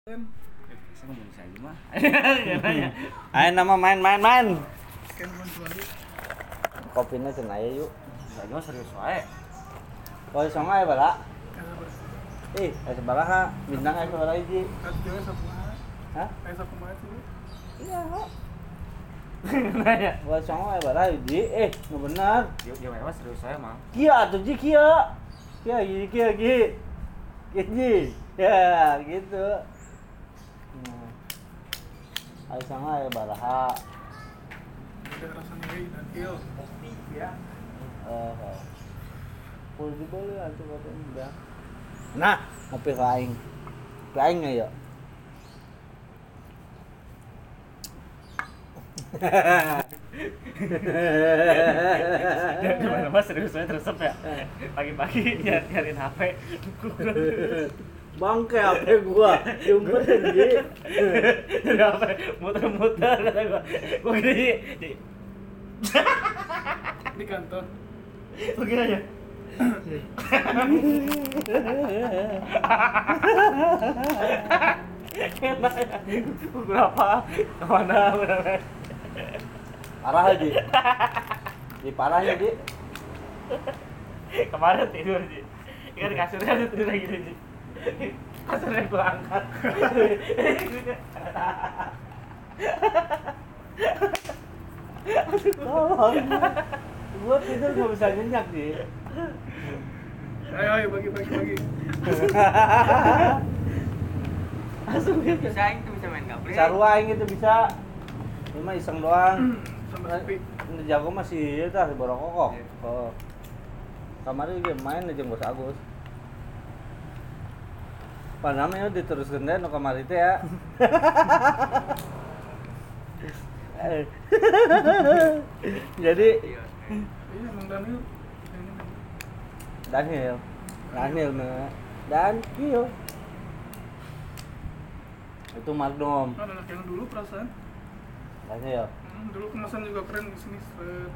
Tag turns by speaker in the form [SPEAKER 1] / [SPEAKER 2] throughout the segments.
[SPEAKER 1] Saya ngomong aja mah.
[SPEAKER 2] Ayo nama main. Kopinya cenah aya yuk.
[SPEAKER 1] Saya mah serius wae.
[SPEAKER 2] Kopi sama aya bala. Ih, aya sabaraha? Bintang aya sabaraha hiji? Hah? Iya, kok.
[SPEAKER 1] Nanya.
[SPEAKER 2] Kopi sama aya baraha hiji? Nu bener.
[SPEAKER 1] Dia mah serius wae mah.
[SPEAKER 2] Kieu atuh ji kieu. Kieu ji. Ya, gitu. Ayo sama aya baraha.
[SPEAKER 3] Ada rasanya dan il kopi ya.
[SPEAKER 2] Full dibeli atuh kopi udah. Nah, ngopi ka aing. Ka aing aya.
[SPEAKER 1] Dia mana mah serius wae terus ya. Pagi-pagi nyariin HP.
[SPEAKER 2] Bangke HP gua, diumpetin ji.
[SPEAKER 1] Dari HP muter-muter kata gua. Gua gini di
[SPEAKER 3] Di kantor.
[SPEAKER 1] begini aja. Berapa? Kemana?
[SPEAKER 2] Parah aja. Di parahnya ji.
[SPEAKER 1] Kemarin tidur sih. Kan di kasurnya tidur lagi sih. Kasurnya gua angkat.
[SPEAKER 2] Tolong. Gua tidur gak bisa nyenyak ji.
[SPEAKER 3] Ayo bagi.
[SPEAKER 2] Langsung gitu.
[SPEAKER 1] Bisa main gaple.
[SPEAKER 2] Sarua aing itu bisa. Ini mah iseng doang.
[SPEAKER 3] Sama sepi.
[SPEAKER 2] Ini jago masih tah borokok. Oh. Kemarin dia main aja Bos Agus. Panamanya diteruskeun deh nu kamari teh ya. Jadi
[SPEAKER 3] Iya emang Daniel.
[SPEAKER 2] Daniel mah dan Kio. Itu Magnum.
[SPEAKER 3] Kan anak yang dulu perasaan.
[SPEAKER 2] Daniel.
[SPEAKER 3] Dulu kemasan juga keren di sini seret.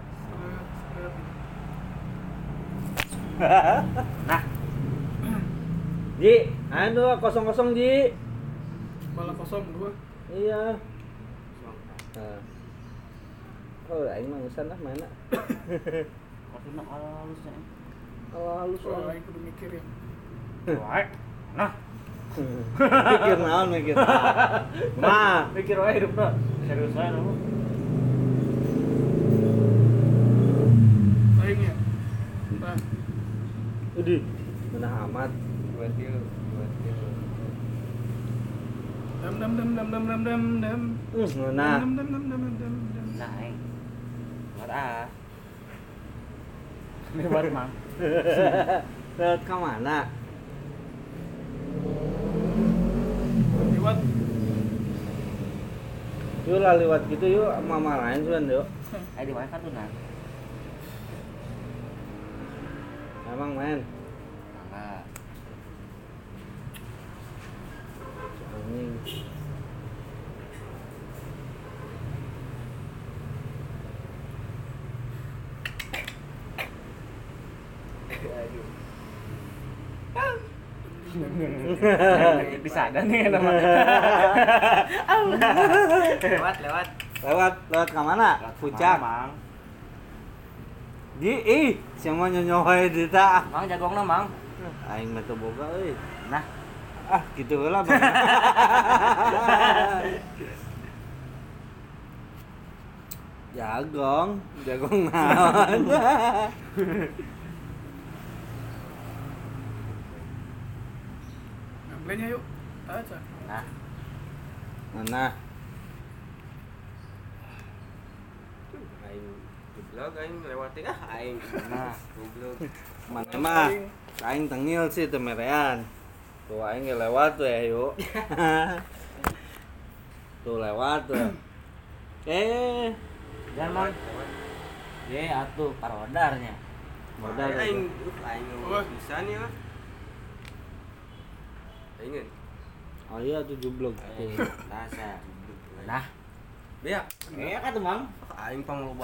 [SPEAKER 1] Nah,
[SPEAKER 2] Ji, anu 00 Ji.
[SPEAKER 3] Bala 02.
[SPEAKER 2] Iya. Nah. Oh, aing mah geus lah mana.
[SPEAKER 1] kopi mah halus ya.
[SPEAKER 2] Kalau halus
[SPEAKER 3] Soal
[SPEAKER 2] lah.
[SPEAKER 3] lain kudu mikir ya.
[SPEAKER 1] Wae. Nah,
[SPEAKER 2] Mikir naon. Mah,
[SPEAKER 1] mikir wae hidupna. Serius wae lu.
[SPEAKER 3] Lain ya. Nah,
[SPEAKER 2] udih. Benar amat.
[SPEAKER 1] Buat dia.
[SPEAKER 3] dam.
[SPEAKER 2] Nah.
[SPEAKER 3] Dam.
[SPEAKER 1] Nah, buat ah. Ini buat mang.
[SPEAKER 2] Lewat ke mana?
[SPEAKER 3] Lewat.
[SPEAKER 2] Yuk lah lewat gitu yuk, mama lain suan yuk.
[SPEAKER 1] Ayo di wifi tuh nah.
[SPEAKER 2] Emang main.
[SPEAKER 1] Enggak.
[SPEAKER 2] Anjing.
[SPEAKER 1] Bisa ada nih nama. Lewat.
[SPEAKER 2] Lewat ke mana? Puncak.
[SPEAKER 1] Mang.
[SPEAKER 2] Di siapa nyonyoh wae di ta.
[SPEAKER 1] Mang jagongna, Mang.
[SPEAKER 2] Aing mah teu boga euy.
[SPEAKER 1] Nah,
[SPEAKER 2] Gitu heula Bang. Jagong naon.
[SPEAKER 3] Ngambilnya yuk. Aja.
[SPEAKER 1] nah.
[SPEAKER 2] Mana? Aing
[SPEAKER 4] Goblok aing lewatin aing.
[SPEAKER 1] Nah,
[SPEAKER 4] Goblok.
[SPEAKER 2] mana mah? Aing tengil sih teu merean. Tuh aing ge lewat tuh ya yuk. Tuh lewat tuh.
[SPEAKER 1] Jangan, Mang. Ye, atuh parodarnya.
[SPEAKER 2] Modal
[SPEAKER 4] Aing
[SPEAKER 3] Wah.
[SPEAKER 4] bisa nih mah. Aingin.
[SPEAKER 2] Oh iya tuh jublok tuh.
[SPEAKER 1] Rasa. Nah,
[SPEAKER 4] Beak.
[SPEAKER 1] kayak kan tuh, Mang.
[SPEAKER 4] Aing pangloba.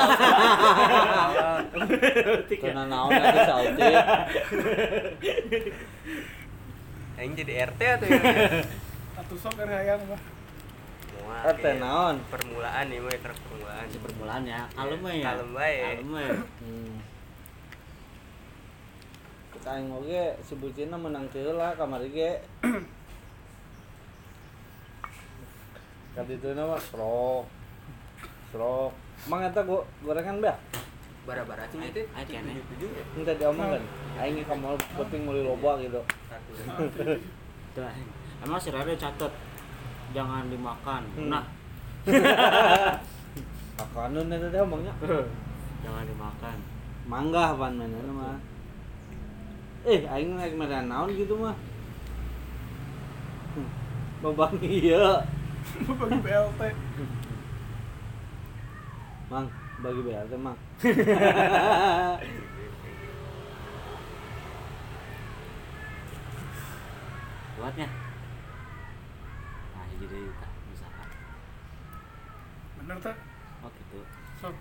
[SPEAKER 2] Karena naon atuh sautik.
[SPEAKER 4] Aing jadi RT atau ya?
[SPEAKER 3] Atau Atuh sok dari hayang mah.
[SPEAKER 4] Mual.
[SPEAKER 2] Teh naon?
[SPEAKER 4] Permulaan nih mah truk permulaan.
[SPEAKER 5] Si permulaan ya, kalem we ya.
[SPEAKER 4] Kalem bae.
[SPEAKER 5] Kalem we.
[SPEAKER 2] Kita aing oge si bucina menang teu lah kamar ge. Ka ditu na mah srok. Mang eta gorengan beak.
[SPEAKER 4] Bara-bara cing itu.
[SPEAKER 5] Aya keneh.
[SPEAKER 2] Minta diomongkeun. Aing ge ka mall penting meuli loba gitu.
[SPEAKER 5] Tuh. Emang si Rere catet jangan dimakan. Nah,
[SPEAKER 2] Makanan eta teh omongnya.
[SPEAKER 5] jangan dimakan.
[SPEAKER 2] Mangga pan mana mah. Aing naik medan naon gitu mah. Babang ieu.
[SPEAKER 3] Bagi BLT.
[SPEAKER 2] Mang, bagi BLT mang.
[SPEAKER 5] Kuatnya. Nah, jadi kita misalkan.
[SPEAKER 3] Bener teh.
[SPEAKER 5] Oh gitu.
[SPEAKER 3] Sok.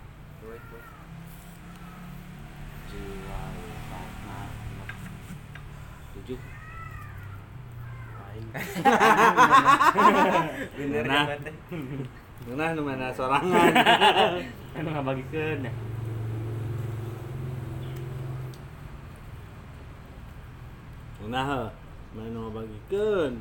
[SPEAKER 5] Jiwa 7.
[SPEAKER 4] Aing. Bener
[SPEAKER 2] Nah.
[SPEAKER 4] ya teh.
[SPEAKER 2] Nah nu mana sorangan.
[SPEAKER 5] Anu ngabagikeun ya.
[SPEAKER 2] Nah, mana nu ngabagikeun.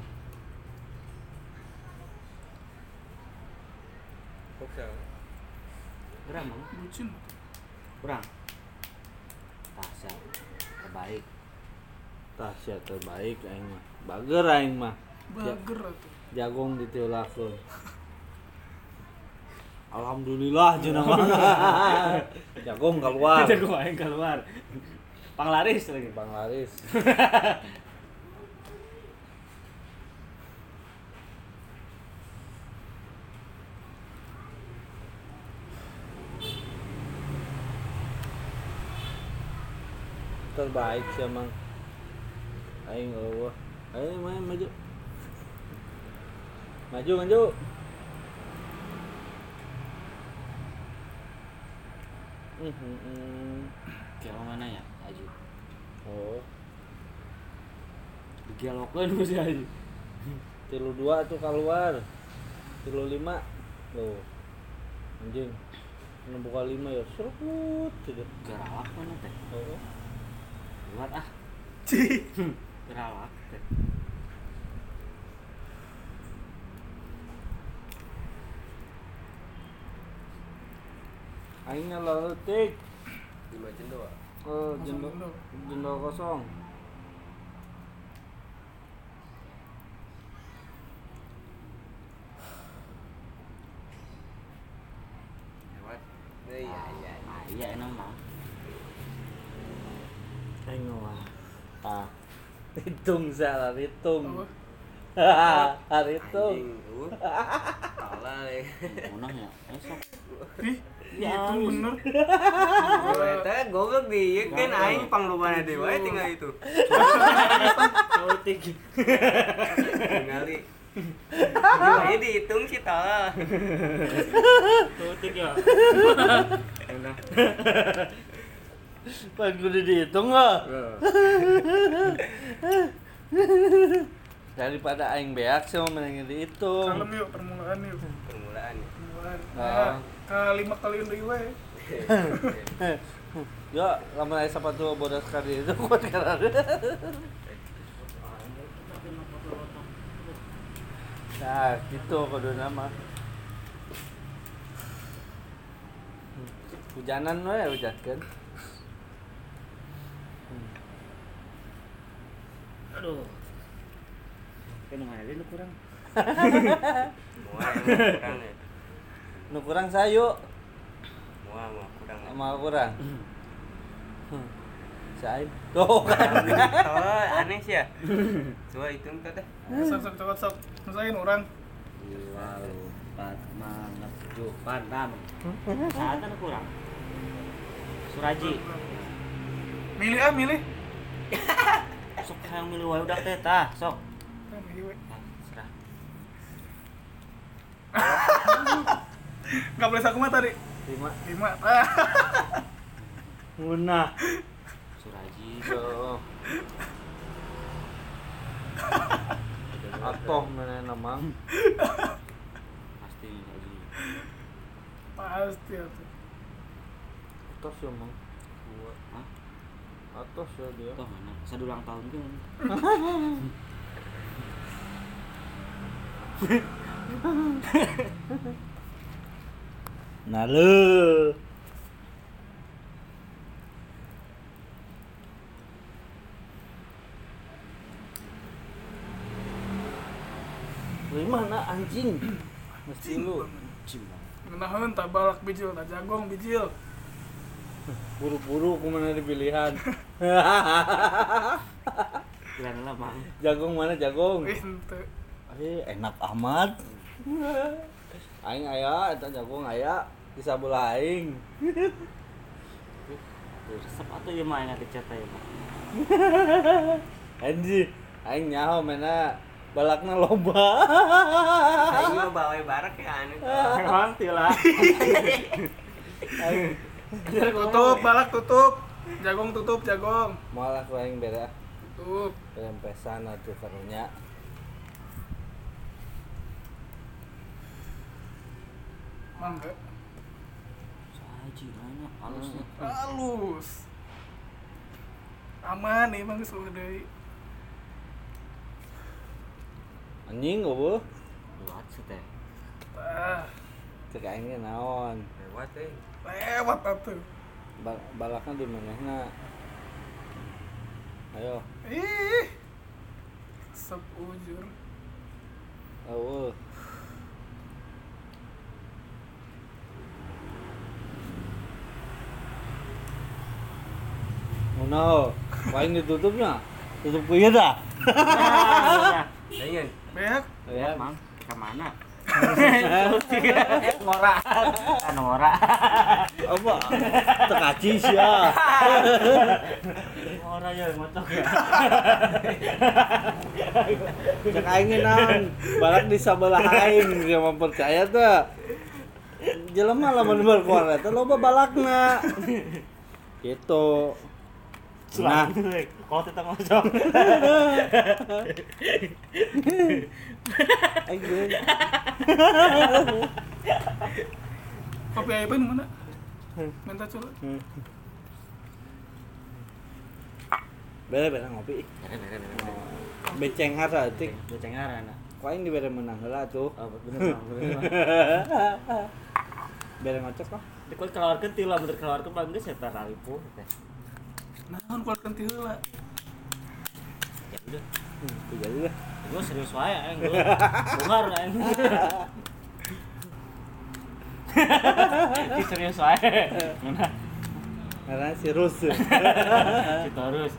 [SPEAKER 4] Koksa.
[SPEAKER 5] Kurang mang.
[SPEAKER 3] Bucin.
[SPEAKER 5] Kurang. Tasya terbaik.
[SPEAKER 2] Tasya terbaik aing mah. Bager aing mah.
[SPEAKER 3] Bager atuh.
[SPEAKER 2] Jagung ditiulakeun. Alhamdulillah cenah mah. Jagung keluar.
[SPEAKER 5] Jago aing keluar. Panglaris lagi.
[SPEAKER 2] Bang Laris. Terbaik sih emang. Aing eueuh. Ayo main maju. Maju.
[SPEAKER 5] Kayak mana ya? Aju.
[SPEAKER 2] Oh,
[SPEAKER 5] Digelokeun ku si Aju.
[SPEAKER 2] 32 tuh keluar. 35. Loh. Anjing. Nu buka 5 ya serut gitu.
[SPEAKER 5] Gerawak mana teh?
[SPEAKER 2] Oh.
[SPEAKER 5] Keluar ah.
[SPEAKER 3] Cih.
[SPEAKER 5] Gerawak teh.
[SPEAKER 2] Aing leutik.
[SPEAKER 4] 5 cendol.
[SPEAKER 2] Oh, jendol kosong.
[SPEAKER 4] Lewat. Iya.
[SPEAKER 5] Ah, iya enak mah.
[SPEAKER 2] Aing mah. Hitung salah hitung. Hitung.
[SPEAKER 4] Anjing. Kalah le.
[SPEAKER 5] Munah ya. Esok.
[SPEAKER 3] Ih,
[SPEAKER 5] Ya,
[SPEAKER 3] itu bener.
[SPEAKER 4] Eta goblok di ieu kan aing panglumana deui wae tinggal itu.
[SPEAKER 5] Sautik.
[SPEAKER 4] Ningali. Ieu dihitung sih tah.
[SPEAKER 5] Sautik ya. Enak.
[SPEAKER 2] Pan kudu dihitung enggak? Daripada aing beak sih mau mending dihitung.
[SPEAKER 3] Kalem yuk permulaan yuk.
[SPEAKER 4] Permulaan.
[SPEAKER 3] Permulaan.
[SPEAKER 2] Ah.
[SPEAKER 3] Nah, ke 5 kali deui we.
[SPEAKER 2] Yo, lamun aya sapatu bodas kali itu kuat kan. Nah, gitu kudu nama. Hujanan we hujatkeun.
[SPEAKER 5] Aduh. Kan ngalir lu kurang.
[SPEAKER 4] Mual kurang ya.
[SPEAKER 2] Nu kurang sayu,
[SPEAKER 4] Mual kurang.
[SPEAKER 2] sama kurang. Sain. Tuh kan.
[SPEAKER 4] Oh, aneh sih ya. Coba hitung teh.
[SPEAKER 3] Sok sok. Nusain orang.
[SPEAKER 5] 2, 4, 5, 7, 6. Saat kan kurang. Suraji.
[SPEAKER 3] Milih.
[SPEAKER 5] Sok yang milih wae udah teh tah, sok.
[SPEAKER 3] Nah, milih we.
[SPEAKER 5] Nah, serah.
[SPEAKER 3] Enggak boleh sakuma tadi.
[SPEAKER 2] 5.
[SPEAKER 3] 5. Ah.
[SPEAKER 2] Munah.
[SPEAKER 5] Suraji.
[SPEAKER 2] Tuh. Atoh mana namang.
[SPEAKER 5] Pasti lagi.
[SPEAKER 3] Pasti atuh.
[SPEAKER 2] Atos ya mang.
[SPEAKER 5] Hah?
[SPEAKER 2] Atos ya dia.
[SPEAKER 5] Toh mana? Saya ulang tahun kan.
[SPEAKER 2] Nah lu. Lu mana anjing? Mesti lu
[SPEAKER 5] Cimbang.
[SPEAKER 3] Ngenaheun tak balak bijil, tak jagong bijil.
[SPEAKER 2] buru-buru kemana di pilihan.
[SPEAKER 5] Kira lah mang.
[SPEAKER 2] Jagong mana jagong?
[SPEAKER 3] Henteu.
[SPEAKER 2] Enak amat. Aing aya eta jagong aya di sabelah aing.
[SPEAKER 5] Resep atuh ieu mah enak dicat ya mah.
[SPEAKER 2] Anjing, aing nyaho mana balakna loba.
[SPEAKER 4] Aing mah bawa barak ya anu.
[SPEAKER 5] Memang tila.
[SPEAKER 2] Aing
[SPEAKER 3] Tutup balak tutup. Jagong tutup jagong.
[SPEAKER 2] malah ku aing bere
[SPEAKER 3] Tutup.
[SPEAKER 2] rempesan atuh karunya.
[SPEAKER 3] Mangga.
[SPEAKER 5] Saji mana halusnya.
[SPEAKER 3] Halus. Aman nih Bang geus deui.
[SPEAKER 2] Anjing goblok.
[SPEAKER 5] Buat sih teh.
[SPEAKER 3] Tah,
[SPEAKER 2] Cek aing ge naon?
[SPEAKER 4] Lewat teh.
[SPEAKER 3] lewat atuh.
[SPEAKER 2] Balakna di manehna? Ayo.
[SPEAKER 3] Ih. Sep ujur.
[SPEAKER 2] Eueuh. Ngono, paling ditutupnya. Tutup ku ieu dah.
[SPEAKER 4] Lain.
[SPEAKER 3] Beak.
[SPEAKER 2] Ya,
[SPEAKER 5] Mang, ke mana? Ngora. Anu ngora.
[SPEAKER 2] apa? Tekaci sia.
[SPEAKER 5] Ngora ya ngocok ya.
[SPEAKER 2] Cek aing naon? Balak di sabelah aing, dia mah percaya teh. Jelema lamun berkuar eta loba balakna. Gitu. Nah,
[SPEAKER 5] Kalau kita ngocok.
[SPEAKER 2] aing geus.
[SPEAKER 3] Kopi Aiban mana? Minta coba.
[SPEAKER 2] Bere ngopi.
[SPEAKER 5] Bere.
[SPEAKER 2] Beceng hara tik.
[SPEAKER 5] Becengar anak.
[SPEAKER 2] Ku aing dibere menang heula tuh.
[SPEAKER 5] Oh, bener Mang, bener.
[SPEAKER 2] Bere ngocok kok.
[SPEAKER 5] Di kalau keluarkeun ti lah bener keluarkeun paling geus eta ralipuh teh.
[SPEAKER 3] Naon keluarkan ti heula.
[SPEAKER 5] Ya udah.
[SPEAKER 2] Jadi lah.
[SPEAKER 5] Gue serius wae aing gue. Bungar aing. Ki serius wae. Mana?
[SPEAKER 2] Karena si Rus.
[SPEAKER 5] Si terus.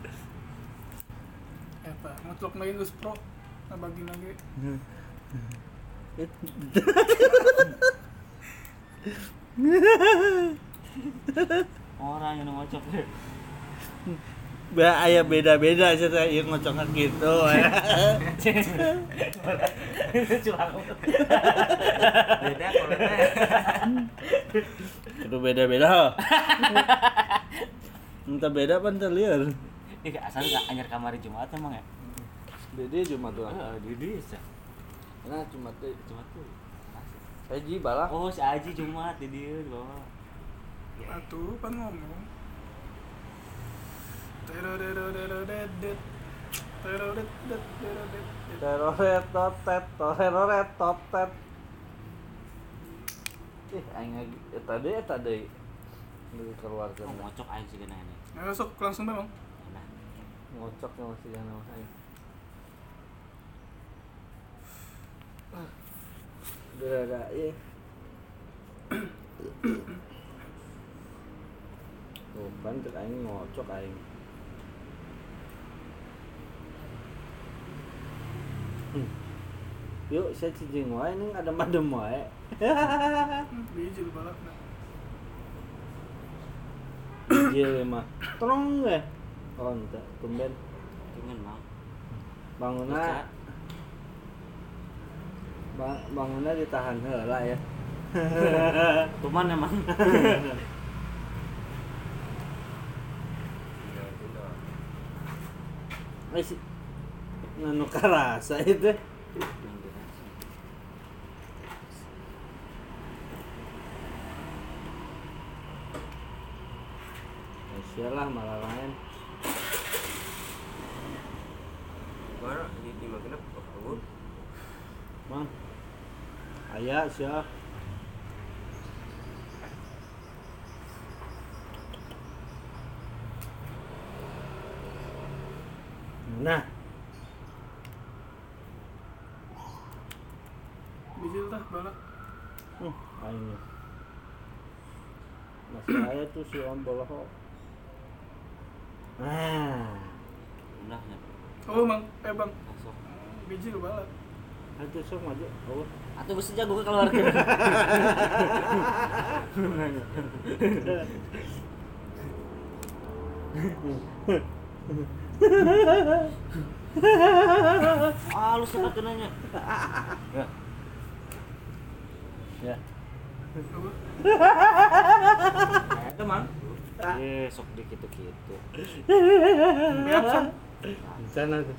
[SPEAKER 3] Eta ngocok lagi geus pro. Nah bagi lagi.
[SPEAKER 5] Orang yang ngocok.
[SPEAKER 2] Aya beda-beda cerita ieu ngocokna gitu.
[SPEAKER 5] Curang.
[SPEAKER 4] Beda kalau teh.
[SPEAKER 2] Itu beda-beda. Entah beda apa entah liar.
[SPEAKER 5] Ih, asal enggak anyar kamari Jumat emang ya?
[SPEAKER 2] Beda cuma tuh.
[SPEAKER 5] Heeh, di desa.
[SPEAKER 2] Nah cuma tuh.
[SPEAKER 5] Jumat tuh.
[SPEAKER 2] Haji balak.
[SPEAKER 5] Oh, si Aji Jumat di dieu di bawah.
[SPEAKER 3] Atuh pan ngomong. Teroderoderodedet. Terodedet.
[SPEAKER 2] Teroret totet. Aing lagi eta deui. Lu keluar
[SPEAKER 5] Oh,
[SPEAKER 2] kan.
[SPEAKER 5] ngocok aing sih gana ini.
[SPEAKER 3] Masuk langsung memang.
[SPEAKER 5] Nah,
[SPEAKER 2] Ngocoknya masih jangan aing. Udah ada iya. Oh, kan cek aing ngocok aing. Yuk, saya cicing wae ning adem-adem wae.
[SPEAKER 3] Bijil balakna.
[SPEAKER 2] Bijil mah. Tolong ge. Oh, ente tumben
[SPEAKER 5] cuman Mang.
[SPEAKER 2] bangunna. Bangunna ditahan heula ya.
[SPEAKER 5] Cuman emang.
[SPEAKER 2] Nganu karasa itu. Sialah malah lain.
[SPEAKER 4] Mana di makinap oh.
[SPEAKER 2] Bang. Aya sia. Nah,
[SPEAKER 3] Bijil tah balak.
[SPEAKER 2] aing. Masih aya tuh si Om Boloho. Nah,
[SPEAKER 5] Undahnya.
[SPEAKER 3] Oh bang, bang,
[SPEAKER 5] Masuk.
[SPEAKER 3] bijil balak.
[SPEAKER 2] aduh sok maju. Oh.
[SPEAKER 5] Atuh geus jago keluarga. Ah, lu sempat nanya. Ya.
[SPEAKER 2] Ya.
[SPEAKER 3] Apa?
[SPEAKER 5] Nah, itu mang. Eh, sok dikitu-kitu.
[SPEAKER 3] Biasa.
[SPEAKER 2] Di sana tuh.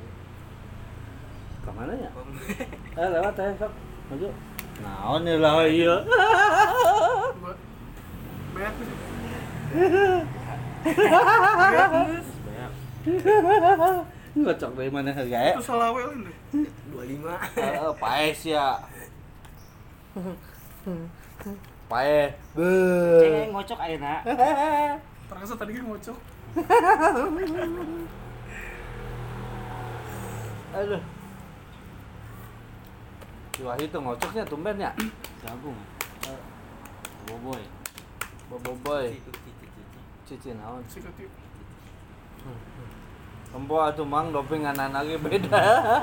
[SPEAKER 2] Ke mana ya? Lewat ya, sok. Maju. Naon ya lah iya.
[SPEAKER 3] Buat banyak sih.
[SPEAKER 5] Banyak.
[SPEAKER 2] Ngocok dari mana harga ya?
[SPEAKER 3] Itu salawel ini.
[SPEAKER 4] 25.
[SPEAKER 2] Paes ya. Paes.
[SPEAKER 5] Ceng ngocok ayeuna.
[SPEAKER 3] Terasa tadi kan ngocok.
[SPEAKER 2] Aduh. Wah itu ngocoknya tumben ya.
[SPEAKER 5] Jagung. Boboy.
[SPEAKER 2] Boboiboy. Cici naon.
[SPEAKER 3] Sikatif.
[SPEAKER 2] Empo atuh mang dopinganan lagi beda.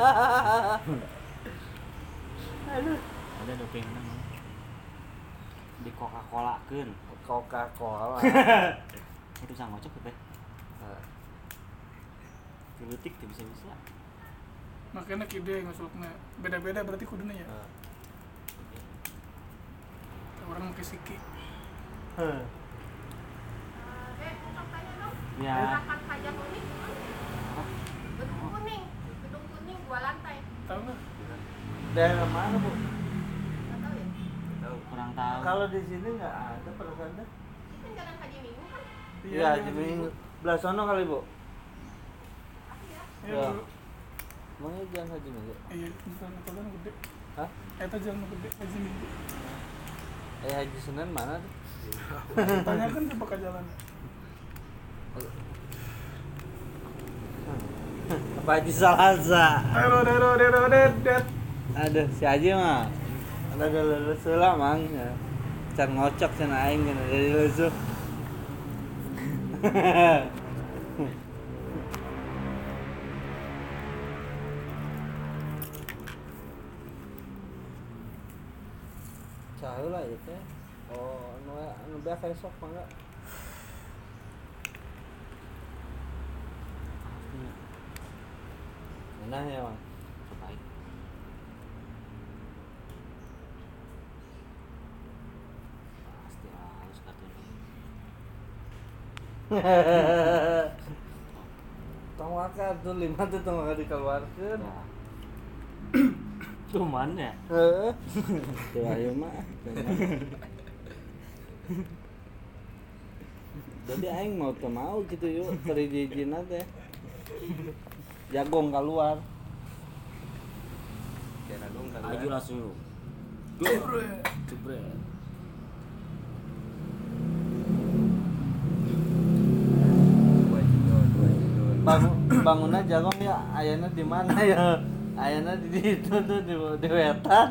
[SPEAKER 2] Aduh.
[SPEAKER 5] Ada dopingna mang. Di Coca-Cola keun.
[SPEAKER 2] Coca-Cola.
[SPEAKER 5] Itu sang ngocok teh. Kelutik teh bisa-bisa.
[SPEAKER 3] Makanya kide ngosoknya beda-beda berarti kuduna ya. Orang pakai siki.
[SPEAKER 5] Ya.
[SPEAKER 6] Makan pajak unik. Gedung kuning 2 lantai.
[SPEAKER 3] Tahu nggak?
[SPEAKER 2] Daerah mana, Bu?
[SPEAKER 6] Nggak tahu ya.
[SPEAKER 5] Kurang tahu.
[SPEAKER 2] Kalau di sini nggak ada perasaan dah.
[SPEAKER 6] Ini kan Jalan Haji Minggu kan?
[SPEAKER 2] Iya, jadi belah sono kali, Bu.
[SPEAKER 3] Iya.
[SPEAKER 2] Ya. Emangnya jangan Haji Minggu?
[SPEAKER 3] Iya, bukan apa kan gede.
[SPEAKER 2] Hah?
[SPEAKER 3] Eta jalan gede Haji Minggu.
[SPEAKER 2] Haji Senin mana tuh?
[SPEAKER 3] Tanyakan ke pakai jalan.
[SPEAKER 2] Apa Haji Salasa?
[SPEAKER 3] Dedet.
[SPEAKER 2] Aduh, si Haji mah ada lulus lah mang ya. Can ngocok can aing kan dari lulus. Cahaya lah itu teh. Oh, anu beak esok mangga. Enak ya, Mang.
[SPEAKER 5] Terbaik. Pasti harus katanya.
[SPEAKER 2] Tong wakar tuh 5 tuh tong wakar dikeluarkeun.
[SPEAKER 5] Ya. Cuman ya.
[SPEAKER 2] Heeh. Tuh ayo mah. Jadi aing mau teu mau gitu yuk, teri dijina teh. Jagong keluar.
[SPEAKER 5] Maju langsung. Jebret.
[SPEAKER 2] Bangunnya jagong ya, ayana di mana ya? Ayana di itu tuh di wetan.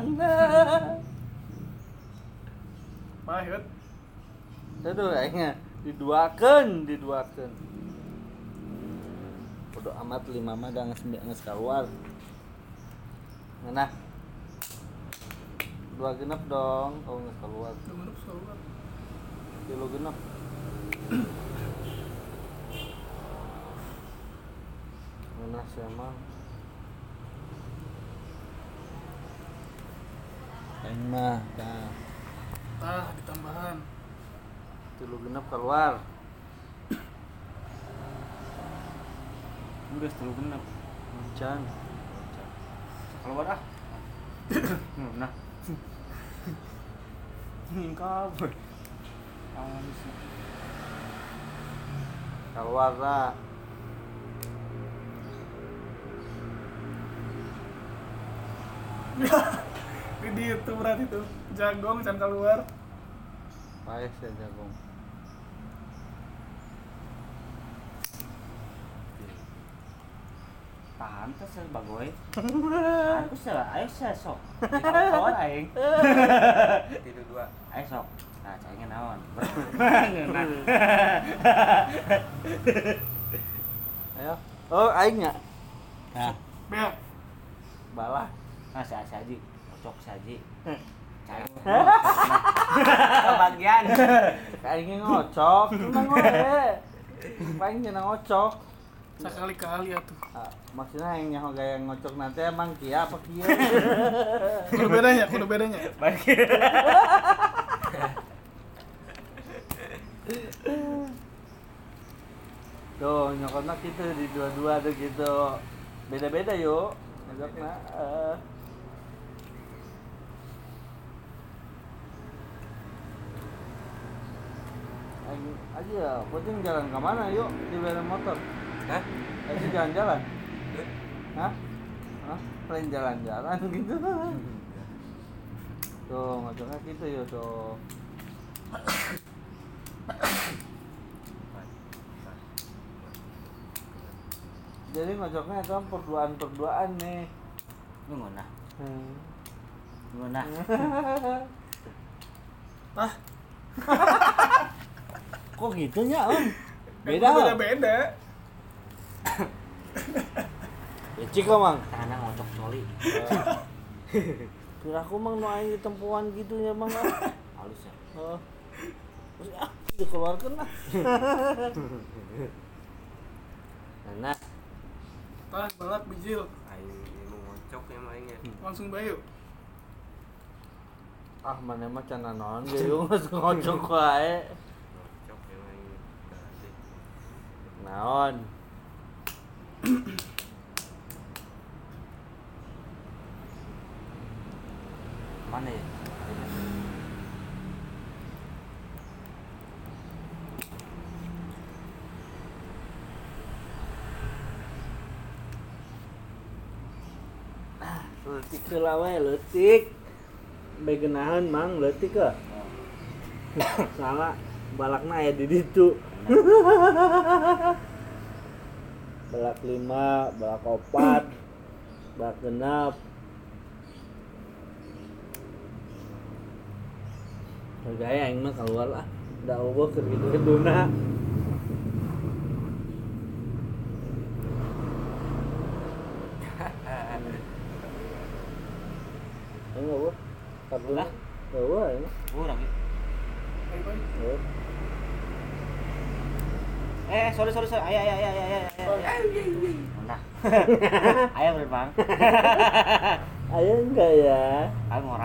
[SPEAKER 3] Pahit.
[SPEAKER 2] Aduh, aingnya diduakeun. Bodo amat 5 mah da geus keluar. Nah. 2 genep dong, kalau geus keluar.
[SPEAKER 3] Menurut saluran.
[SPEAKER 2] 3 genep. Mana sih emang? Aing mah, tah.
[SPEAKER 3] Tah ditambahan.
[SPEAKER 2] 3 genep keluar.
[SPEAKER 5] Geus 3 genep.
[SPEAKER 2] Macan.
[SPEAKER 5] Keluar ah. Nah. Ngingkap.
[SPEAKER 2] Keluar lah.
[SPEAKER 3] Di itu berarti tuh jagong can keluar.
[SPEAKER 2] Paes ya jagung.
[SPEAKER 5] Pantes ya bagoy. Aku salah, ayo saya sok. Kawan aing.
[SPEAKER 4] Tidur dua.
[SPEAKER 5] Ayo sok. Nah, cengin naon.
[SPEAKER 2] Ayo. Oh, aing nya.
[SPEAKER 5] Nah,
[SPEAKER 3] Bel.
[SPEAKER 2] Balah.
[SPEAKER 5] nah si Aji, cocok si Aji. Cai.
[SPEAKER 4] Kebagian.
[SPEAKER 2] Aing ngocok, tenang we. Paling cenah ngocok.
[SPEAKER 3] Sekali-kali atuh.
[SPEAKER 2] Ah, maksudnya yang nyaho gaya ngocok nanti emang kia apa kia?
[SPEAKER 3] Kudu bedanya.
[SPEAKER 5] Baik.
[SPEAKER 2] Tuh, nyokotna gitu di dua-dua tuh gitu. Beda-beda yuk. Ngocokna. Aja, pocong jalan ke mana yuk di belakang motor?
[SPEAKER 4] Hah?
[SPEAKER 2] Aja jalan-jalan. Hah? Hah? Paling jalan-jalan gitu. Tuh, ngocoknya gitu yuk tuh. Jadi ngocoknya itu perduaan nih.
[SPEAKER 5] Lu ngonah.
[SPEAKER 2] Hmm.
[SPEAKER 5] Ngonah.
[SPEAKER 2] Kok gitunya om?
[SPEAKER 3] Beda
[SPEAKER 2] Beda.
[SPEAKER 3] beda.
[SPEAKER 2] Becik kok mang.
[SPEAKER 5] Tanah ngocok coli.
[SPEAKER 2] Kira aku mang nu aing ditempuan gitunya mang.
[SPEAKER 5] Halus ya.
[SPEAKER 2] Oh. Terus dikeluarkan lah. Nah,
[SPEAKER 3] Tah balak bijil.
[SPEAKER 4] Aing mau ngocok ya mainnya.
[SPEAKER 3] Langsung bayu.
[SPEAKER 2] ah mana mah can naon ge yung ngocok wae.
[SPEAKER 4] Ngocok ya mainnya.
[SPEAKER 2] Naon?
[SPEAKER 5] Mana ya?
[SPEAKER 2] Leutik heula we leutik. Begenahan mang leutik ke? Salah balakna aya di ditu. Balak 5, balak 4, balak 6. Gaya aing mah keluar lah. Da eueuh keur kitu-kituna. Aing eueuh. Kaduna. Eueuh aing.
[SPEAKER 5] Urang ya.
[SPEAKER 2] Eueuh.
[SPEAKER 5] Sorry. Ayah. Nah. Ayah bener bang.
[SPEAKER 2] Ayo enggak ya?
[SPEAKER 5] Ayah ngora.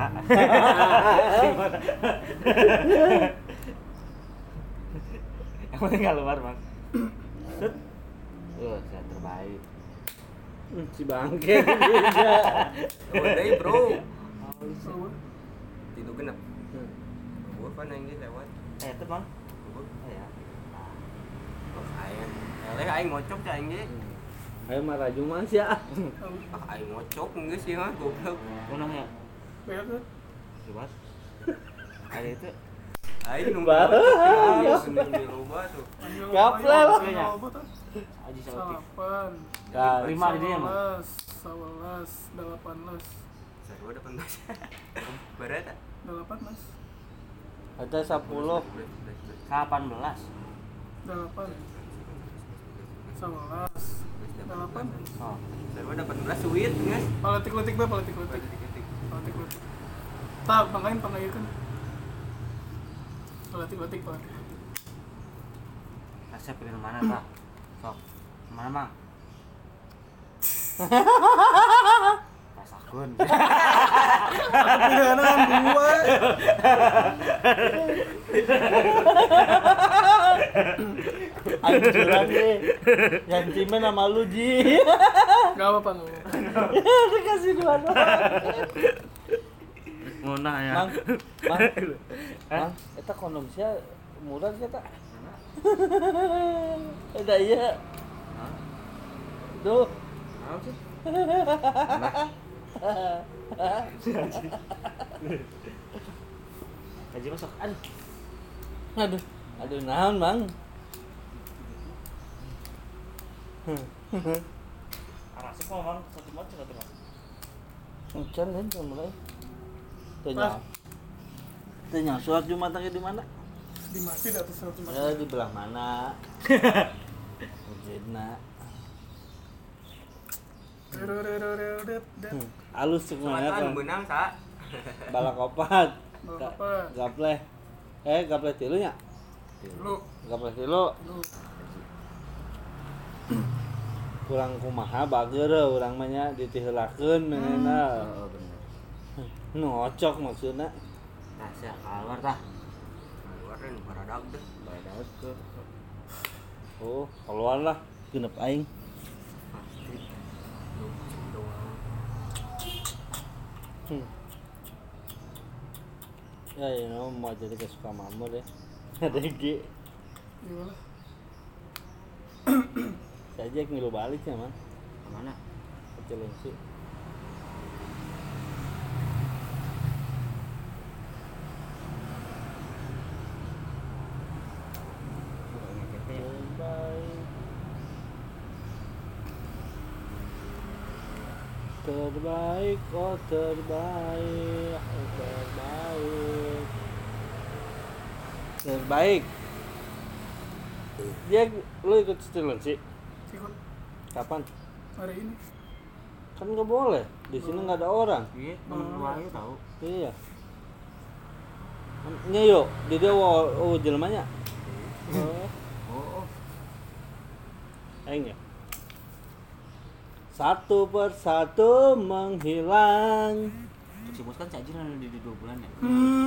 [SPEAKER 5] Yang penting nggak luar bang. Set. Saya terbaik.
[SPEAKER 2] Si bangke juga.
[SPEAKER 4] Udah bro.
[SPEAKER 3] Bro.
[SPEAKER 4] Tidur genap. Gua kan yang dia lewat.
[SPEAKER 5] Itu bang.
[SPEAKER 4] Gua
[SPEAKER 5] Ya.
[SPEAKER 4] aing. Eleh aing ngocok cah aing ge.
[SPEAKER 2] Ayo mah raju mas ya.
[SPEAKER 4] Ah aing ngocok geus sih mah goblok.
[SPEAKER 5] Unang ya.
[SPEAKER 3] Beda.
[SPEAKER 5] Libat. Ada itu.
[SPEAKER 4] Aing nu
[SPEAKER 2] Bah.
[SPEAKER 4] ngocok di loba tuh.
[SPEAKER 2] Gaplel.
[SPEAKER 5] Aji Sautik.
[SPEAKER 3] 8
[SPEAKER 2] Kan.
[SPEAKER 5] 5 di dia mah.
[SPEAKER 3] 11 18
[SPEAKER 4] Sarua 18. Berapa?
[SPEAKER 3] 18
[SPEAKER 2] Ada 10.
[SPEAKER 5] 18.
[SPEAKER 3] 8 11 8
[SPEAKER 5] Oh.
[SPEAKER 4] Sarua 18 suit geus.
[SPEAKER 3] Politik-politik be politik-politik. Tak pangain kan. Politik-politik.
[SPEAKER 5] Saya pilih mana pak? Sok. Mana mang? Pasakun.
[SPEAKER 3] Aku pilihan kan dua.
[SPEAKER 2] Aing curang deh. Yang cimen sama lu Ji.
[SPEAKER 3] Enggak apa-apa, enggak apa-apa.
[SPEAKER 2] Dikasih 2 doang.
[SPEAKER 5] Ngunah ya.
[SPEAKER 2] Mang, eta kondom sia murah kita. Ada iya. Duh.
[SPEAKER 5] Naon sih? Haji masuk.
[SPEAKER 2] Aduh naon, Bang?
[SPEAKER 5] Arasip mah Mang, satu macam.
[SPEAKER 2] Hujan kan mulai. Tanya. Tanya surat Jumat di mana?
[SPEAKER 3] Di masjid atau suatu
[SPEAKER 2] Ya
[SPEAKER 3] masjid?
[SPEAKER 2] di belah mana? Masjidna. Alus semuanya
[SPEAKER 4] Selatan
[SPEAKER 2] kan.
[SPEAKER 4] benang sa.
[SPEAKER 2] Balak opat.
[SPEAKER 3] Balak opat.
[SPEAKER 2] Gapleh. Gapleh tilu nya.
[SPEAKER 3] Lu,
[SPEAKER 2] Gapleh tilu.
[SPEAKER 3] lu.
[SPEAKER 2] Kurang kumaha bager urang mah nya ditiheulakeun menena.
[SPEAKER 5] Oh bener.
[SPEAKER 2] Ngocok maksudna.
[SPEAKER 5] Nah, sia keluar tah.
[SPEAKER 4] Keluarin baradag deh.
[SPEAKER 5] Badak ke.
[SPEAKER 2] Oh, keluar lah. Genep aing. Ya, you know, mau jadi kesuka mamur ya. Ada G.
[SPEAKER 3] Gimana?
[SPEAKER 2] Saya aja ngilu balik ya, Man.
[SPEAKER 5] Kemana?
[SPEAKER 2] Kecil sih. Terbaik, oh terbaik, oh terbaik. Terbaik. Dia, lu ikut Stirling sih?
[SPEAKER 3] Ikut
[SPEAKER 2] Kapan?
[SPEAKER 3] hari ini.
[SPEAKER 2] Kan nggak boleh. Di sini nggak ada orang.
[SPEAKER 5] Iya, temen lu aja tahu.
[SPEAKER 2] Iya. Nya yuk, di dia jelmanya. Oh,
[SPEAKER 5] Oh,
[SPEAKER 2] aing ya. Satu persatu menghilang.
[SPEAKER 5] Cuk si bos kan saja di 2 bulan ya.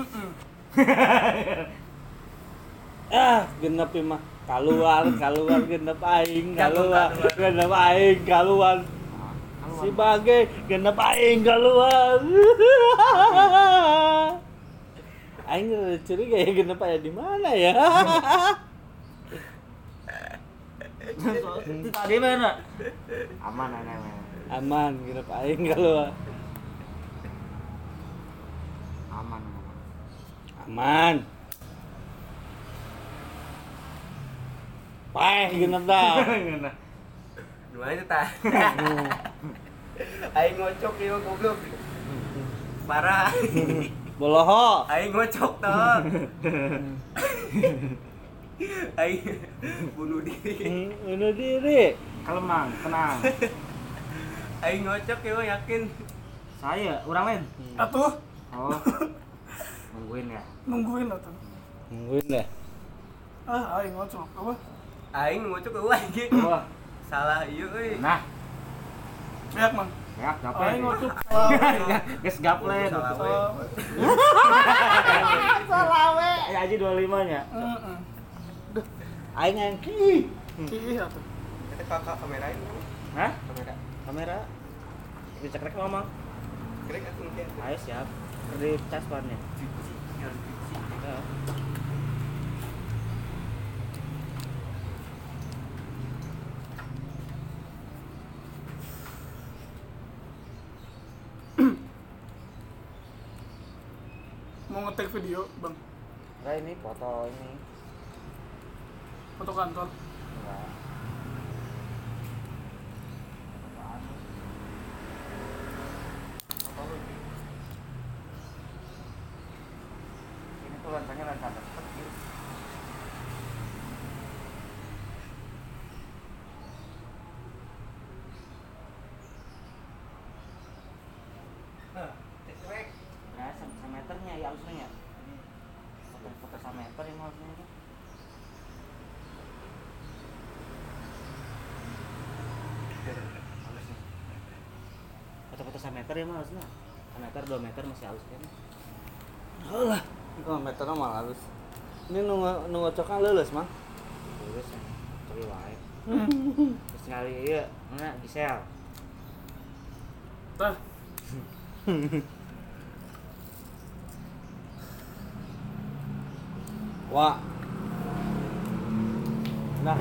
[SPEAKER 2] Genep mah keluar genep aing keluar genep aing keluar. Si Bage genep aing keluar. Aing curiga ya genep aya di mana ya?
[SPEAKER 5] Tadi mana? Aman.
[SPEAKER 2] Aman genep aing keluar.
[SPEAKER 5] Aman.
[SPEAKER 2] Aman. Paeh genep dah.
[SPEAKER 4] Gimana itu tah? Aing ngocok ieu goblok. Parah.
[SPEAKER 2] Boloho.
[SPEAKER 4] Aing ngocok toh. Aing bunuh diri.
[SPEAKER 2] Bunuh diri.
[SPEAKER 5] Kalau Mang, tenang.
[SPEAKER 4] Aing ngocok ieu yakin.
[SPEAKER 5] Saya, orang lain.
[SPEAKER 3] Atuh,
[SPEAKER 5] Oh. Nungguin ya.
[SPEAKER 3] nungguin lah tuh.
[SPEAKER 2] Nungguin deh.
[SPEAKER 3] Aing ngocok apa?
[SPEAKER 4] Aing ngocok eueuh anjing.
[SPEAKER 5] Wah.
[SPEAKER 4] Salah ieu euy.
[SPEAKER 5] Nah,
[SPEAKER 3] Beak, Mang.
[SPEAKER 5] ya gaple.
[SPEAKER 3] Aing ngocok salah.
[SPEAKER 5] Geus gaple.
[SPEAKER 4] Salah we.
[SPEAKER 3] Salah.
[SPEAKER 5] Ya aja 25 nya.
[SPEAKER 3] Heeh.
[SPEAKER 2] Aing engki.
[SPEAKER 3] Ih, atuh.
[SPEAKER 4] Kita kakak kamerain.
[SPEAKER 5] Hah?
[SPEAKER 4] Kamera.
[SPEAKER 5] Kamera. Dicek rek ngomong.
[SPEAKER 4] Krek aku mungkin.
[SPEAKER 5] Ayo siap. Di cas bannya. Ya.
[SPEAKER 3] Mau ngetek video, Bang.
[SPEAKER 5] Nah, ini foto ini.
[SPEAKER 3] Foto kantor.
[SPEAKER 5] Enggak. Ini tuh lensanya lensa kecil. Nah, semeternya ya harusnya ya. Foto semeter yang harusnya itu. Foto-foto semeter ya harusnya. Semeter 2 meter masih halus kan.
[SPEAKER 2] Alah, 2 meter mah halus. Ini nunggu cokan leuleus, Mang.
[SPEAKER 5] Terus ya. Coba sekali wae. Terus sekali ieu mana Gisel.
[SPEAKER 3] Tah,
[SPEAKER 2] Wah. Nah.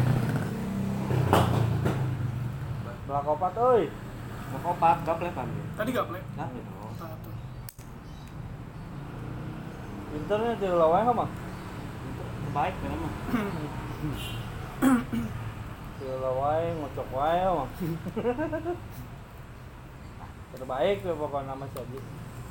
[SPEAKER 2] Belak opat euy.
[SPEAKER 5] Mau kopat gaple pan.
[SPEAKER 3] tadi gaple.
[SPEAKER 5] Nah, gitu.
[SPEAKER 3] Tah tuh.
[SPEAKER 2] Pinternya di lawan mah.
[SPEAKER 5] Terbaik kan mah.
[SPEAKER 2] Di lawan ngocok wae mah. Terbaik we pokoknya nama si Aji.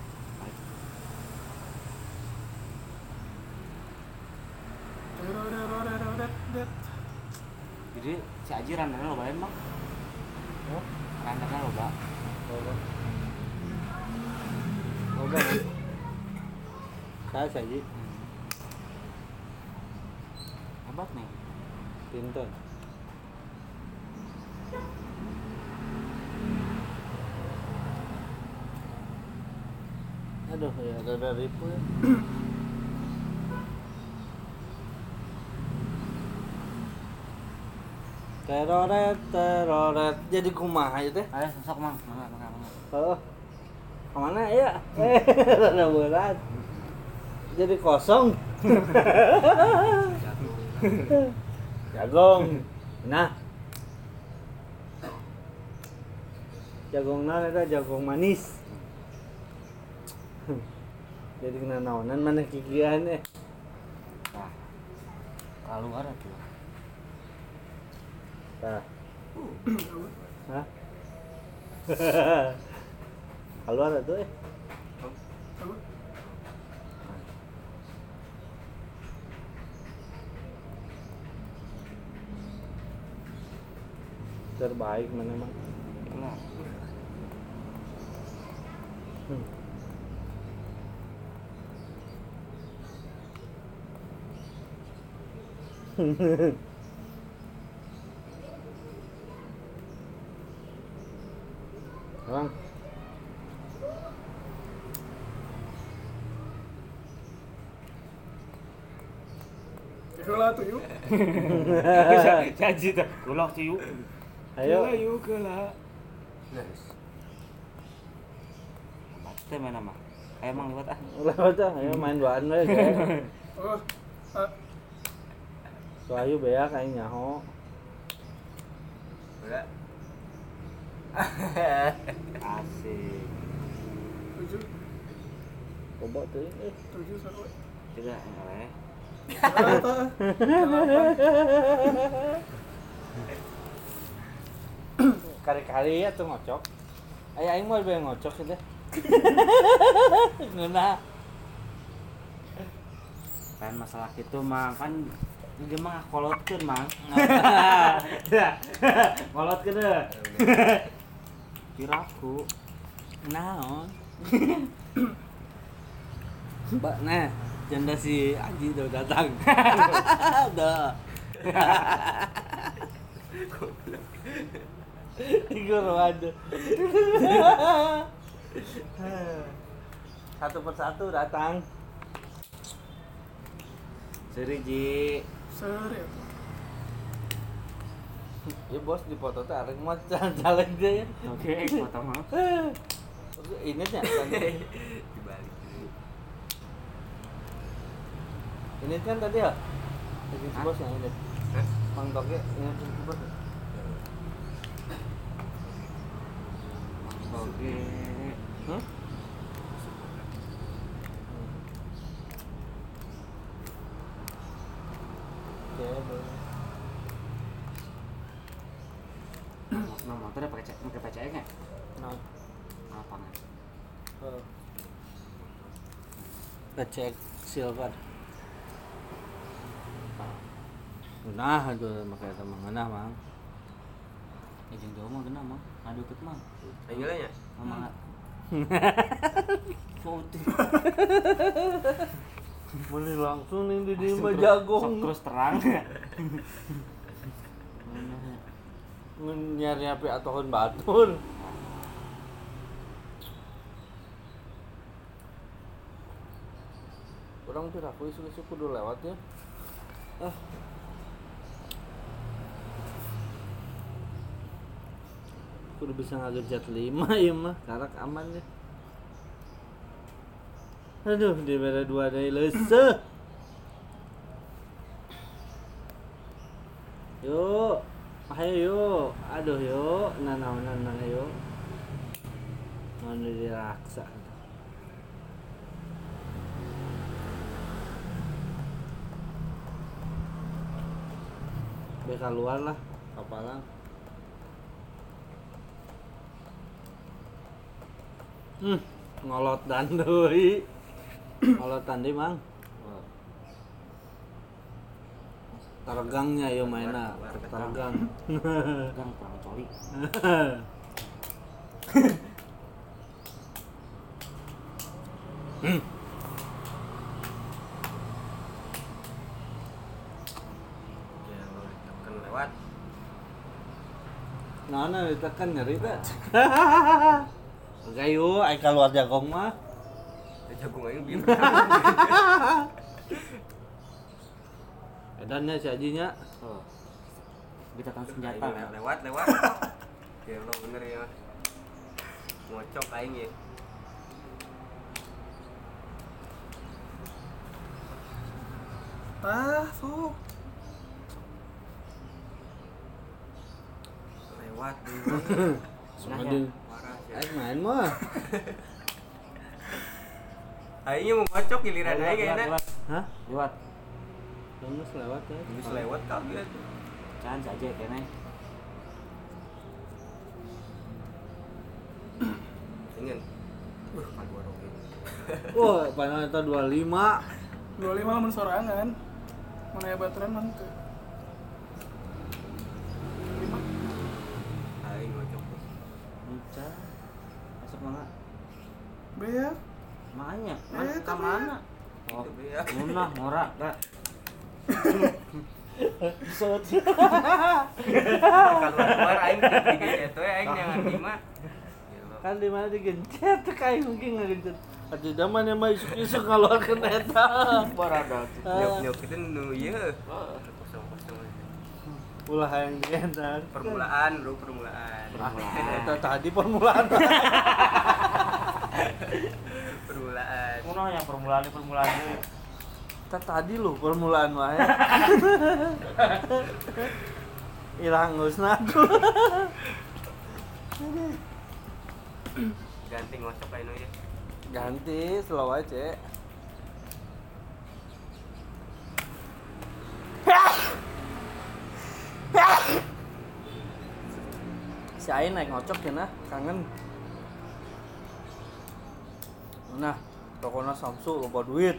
[SPEAKER 5] Jadi si Aji randernya loba emang.
[SPEAKER 2] Oh,
[SPEAKER 5] Randernya loba.
[SPEAKER 2] loba. Loba. Saya si Aji
[SPEAKER 5] Hebat nih.
[SPEAKER 2] pinter. Aduh, ya ada ribu ya. Teroret jadi kumaha ya teh?
[SPEAKER 5] Ayo sok mang, mangga.
[SPEAKER 2] Oh, kemana ya? Ada berat. Jadi kosong. Jagong. Nah. Jagong na eta jagong manis. Jadi kena naonan mana kikian eh.
[SPEAKER 5] Nah. Keluar tuh.
[SPEAKER 2] Tah. Hah? Keluar tuh eh. Terbaik mana mah.
[SPEAKER 5] Keluar.
[SPEAKER 2] Bang.
[SPEAKER 3] Ikulah tuh yuk.
[SPEAKER 5] Si Aji tuh. Kulok sih yuk.
[SPEAKER 2] Ayo.
[SPEAKER 5] Yuk keula. Teh mana mah? Ayo mang liwat ah.
[SPEAKER 2] Lewat ah, ayo main duaan we. Kayak.
[SPEAKER 3] Oh,
[SPEAKER 2] Soayu beak aing nyaho.
[SPEAKER 4] Udah.
[SPEAKER 5] Asik.
[SPEAKER 3] 7,
[SPEAKER 2] Coba tuh eh.
[SPEAKER 3] 7 sarua.
[SPEAKER 5] Tidak oleh.
[SPEAKER 3] Tah.
[SPEAKER 2] Kali-kali ya tuh ngocok. Aing mau be ngocok gitu. Ngeuna.
[SPEAKER 5] Kan masalah gitu mang kan dia mah kolotkeun mang. Kolotkeun deh. Piraku.
[SPEAKER 2] Naon? Mbak, nah, janda si Aji udah datang. Udah. Tiga aja. Satu persatu datang.
[SPEAKER 5] Seri Ji.
[SPEAKER 3] Seri ya.
[SPEAKER 2] Ya bos di foto teh arek mah caleg dia ya.
[SPEAKER 5] Oke, foto mah.
[SPEAKER 2] Ini nya kan.
[SPEAKER 4] Dibalik dulu.
[SPEAKER 2] Ini kan tadi ya. Tadi si
[SPEAKER 5] Hah?
[SPEAKER 2] bos yang ini.
[SPEAKER 4] Hah?
[SPEAKER 2] Bang Toge ini si bos.
[SPEAKER 5] Oke.
[SPEAKER 2] Hah? Oke, boleh.
[SPEAKER 5] Nah, motor pakai PCX enggak?
[SPEAKER 2] Nah,
[SPEAKER 5] Lapangan.
[SPEAKER 2] ngecek silver. Nah, itu makanya teman ngana mang.
[SPEAKER 5] Jeung jauh mah geuna mah. Ngadeukeut mah.
[SPEAKER 4] Ayo lah ya.
[SPEAKER 5] Mama. Foto.
[SPEAKER 2] Boleh langsung nih di
[SPEAKER 5] Sok
[SPEAKER 2] mah jagong.
[SPEAKER 5] terus terang.
[SPEAKER 2] Nyari api atohan batur. Orang tuh aku isu-isu kudu lewat ya. Kudu bisa ngagencet 5 ieu mah, karak aman ya. Aduh, di bere 2 deui leuseuh. Yuk, ayo yuk. Aduh yuk, nanaonan yuk. Mana diraksa. Be keluar lah, kapalang. Ngolot dan deui. Ngolotan deui, Mang. Targangnya yo mainna, targang.
[SPEAKER 5] Gang kurang coli.
[SPEAKER 4] Ya lo ditekan lewat.
[SPEAKER 2] Naonna ditekan nyeri teh. Oke yuk, ai keluar jagong mah.
[SPEAKER 4] Jagung aing bieu.
[SPEAKER 2] Edannya si Ajinya.
[SPEAKER 5] Oh. Bitakan senjata.
[SPEAKER 4] Lewat. Ya lo bener ya. Ngocok aing ya.
[SPEAKER 3] Sok.
[SPEAKER 4] Lewat dulu.
[SPEAKER 2] Aduh.
[SPEAKER 4] Parah sih.
[SPEAKER 2] Aing main mah.
[SPEAKER 4] Aingnya mau ngocok giliran aing kayaknya.
[SPEAKER 2] Hah?
[SPEAKER 5] Lewat.
[SPEAKER 2] Terus lewat ya.
[SPEAKER 4] Geus lewat kaget.
[SPEAKER 5] Can saja kene.
[SPEAKER 4] Ingin. Kadua roge.
[SPEAKER 2] Wah, panjang eta 25.
[SPEAKER 3] 25 lamun sorangan. Mana ya bateran mah teu.
[SPEAKER 4] Aing ngocok tuh.
[SPEAKER 5] Bisa. Masuk mana?
[SPEAKER 3] Be ya.
[SPEAKER 5] Makanya,
[SPEAKER 3] Eh,
[SPEAKER 5] ka mana? Oh,
[SPEAKER 4] Itu be ya.
[SPEAKER 5] munah ngora.
[SPEAKER 4] Keluar aing digencet we aing jangan lima.
[SPEAKER 2] Kan di mana digencet kayak mungkin ngegencet. Atuh zaman yang mah isuk-isuk ngaluarkeun eta.
[SPEAKER 5] Parada.
[SPEAKER 4] Nyok itu nu ieu. Kosong-kosong.
[SPEAKER 2] Ulah hayang digendang.
[SPEAKER 4] Permulaan, bro, permulaan.
[SPEAKER 2] Eta tadi permulaan.
[SPEAKER 4] Permulaan.
[SPEAKER 5] Munah yang permulaan deui.
[SPEAKER 2] Eta tadi lu permulaan wae. Ilang geusna tuh.
[SPEAKER 4] Ganti ngocok aing nu ya.
[SPEAKER 2] Ganti slow aja. Si Ain naik ngocok ya nah, kangen. Nah, tokona Samsu loba duit.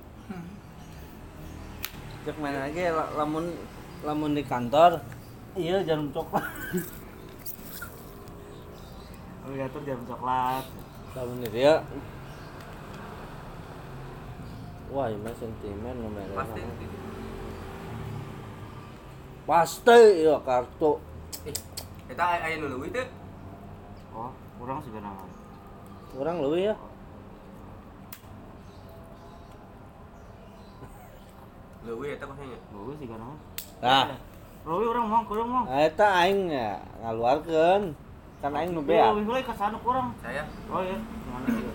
[SPEAKER 2] Cek main lagi lamun di kantor. Iya jarum coklat.
[SPEAKER 5] Ngatur jarum coklat.
[SPEAKER 2] Lamun dia. Wah, ini mah sentimen nomornya.
[SPEAKER 4] Pasti.
[SPEAKER 2] Pasti ya kartu.
[SPEAKER 4] Eta aya nu leuwih teh.
[SPEAKER 5] Oh, kurang juga nama.
[SPEAKER 2] Kurang leuwih ya.
[SPEAKER 4] Leuwih eta kosnya.
[SPEAKER 5] Bagus juga nama.
[SPEAKER 2] Nah,
[SPEAKER 5] Leuwih urang mong, kurang mong.
[SPEAKER 2] eta aing ya ngaluarkeun. Kan aing nu bea.
[SPEAKER 5] Leuwih ka sana kurang.
[SPEAKER 4] Saya.
[SPEAKER 5] Oh iya, mana ieu?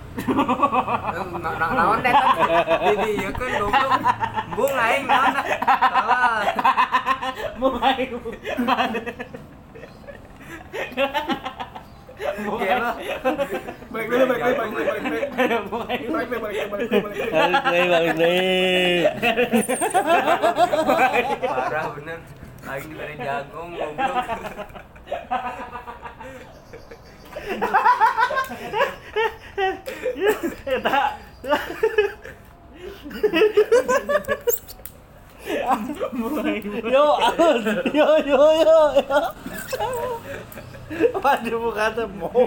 [SPEAKER 4] Naon teh kan? Di ieu kan goblok. Bung aing naon dah. Salah.
[SPEAKER 5] Mulai.
[SPEAKER 4] Gelo.
[SPEAKER 3] Balik dulu.
[SPEAKER 2] Balik deui.
[SPEAKER 4] Parah bener. Aing diberi jagong goblok.
[SPEAKER 2] Yo, yo. Waduh bukan teh mau.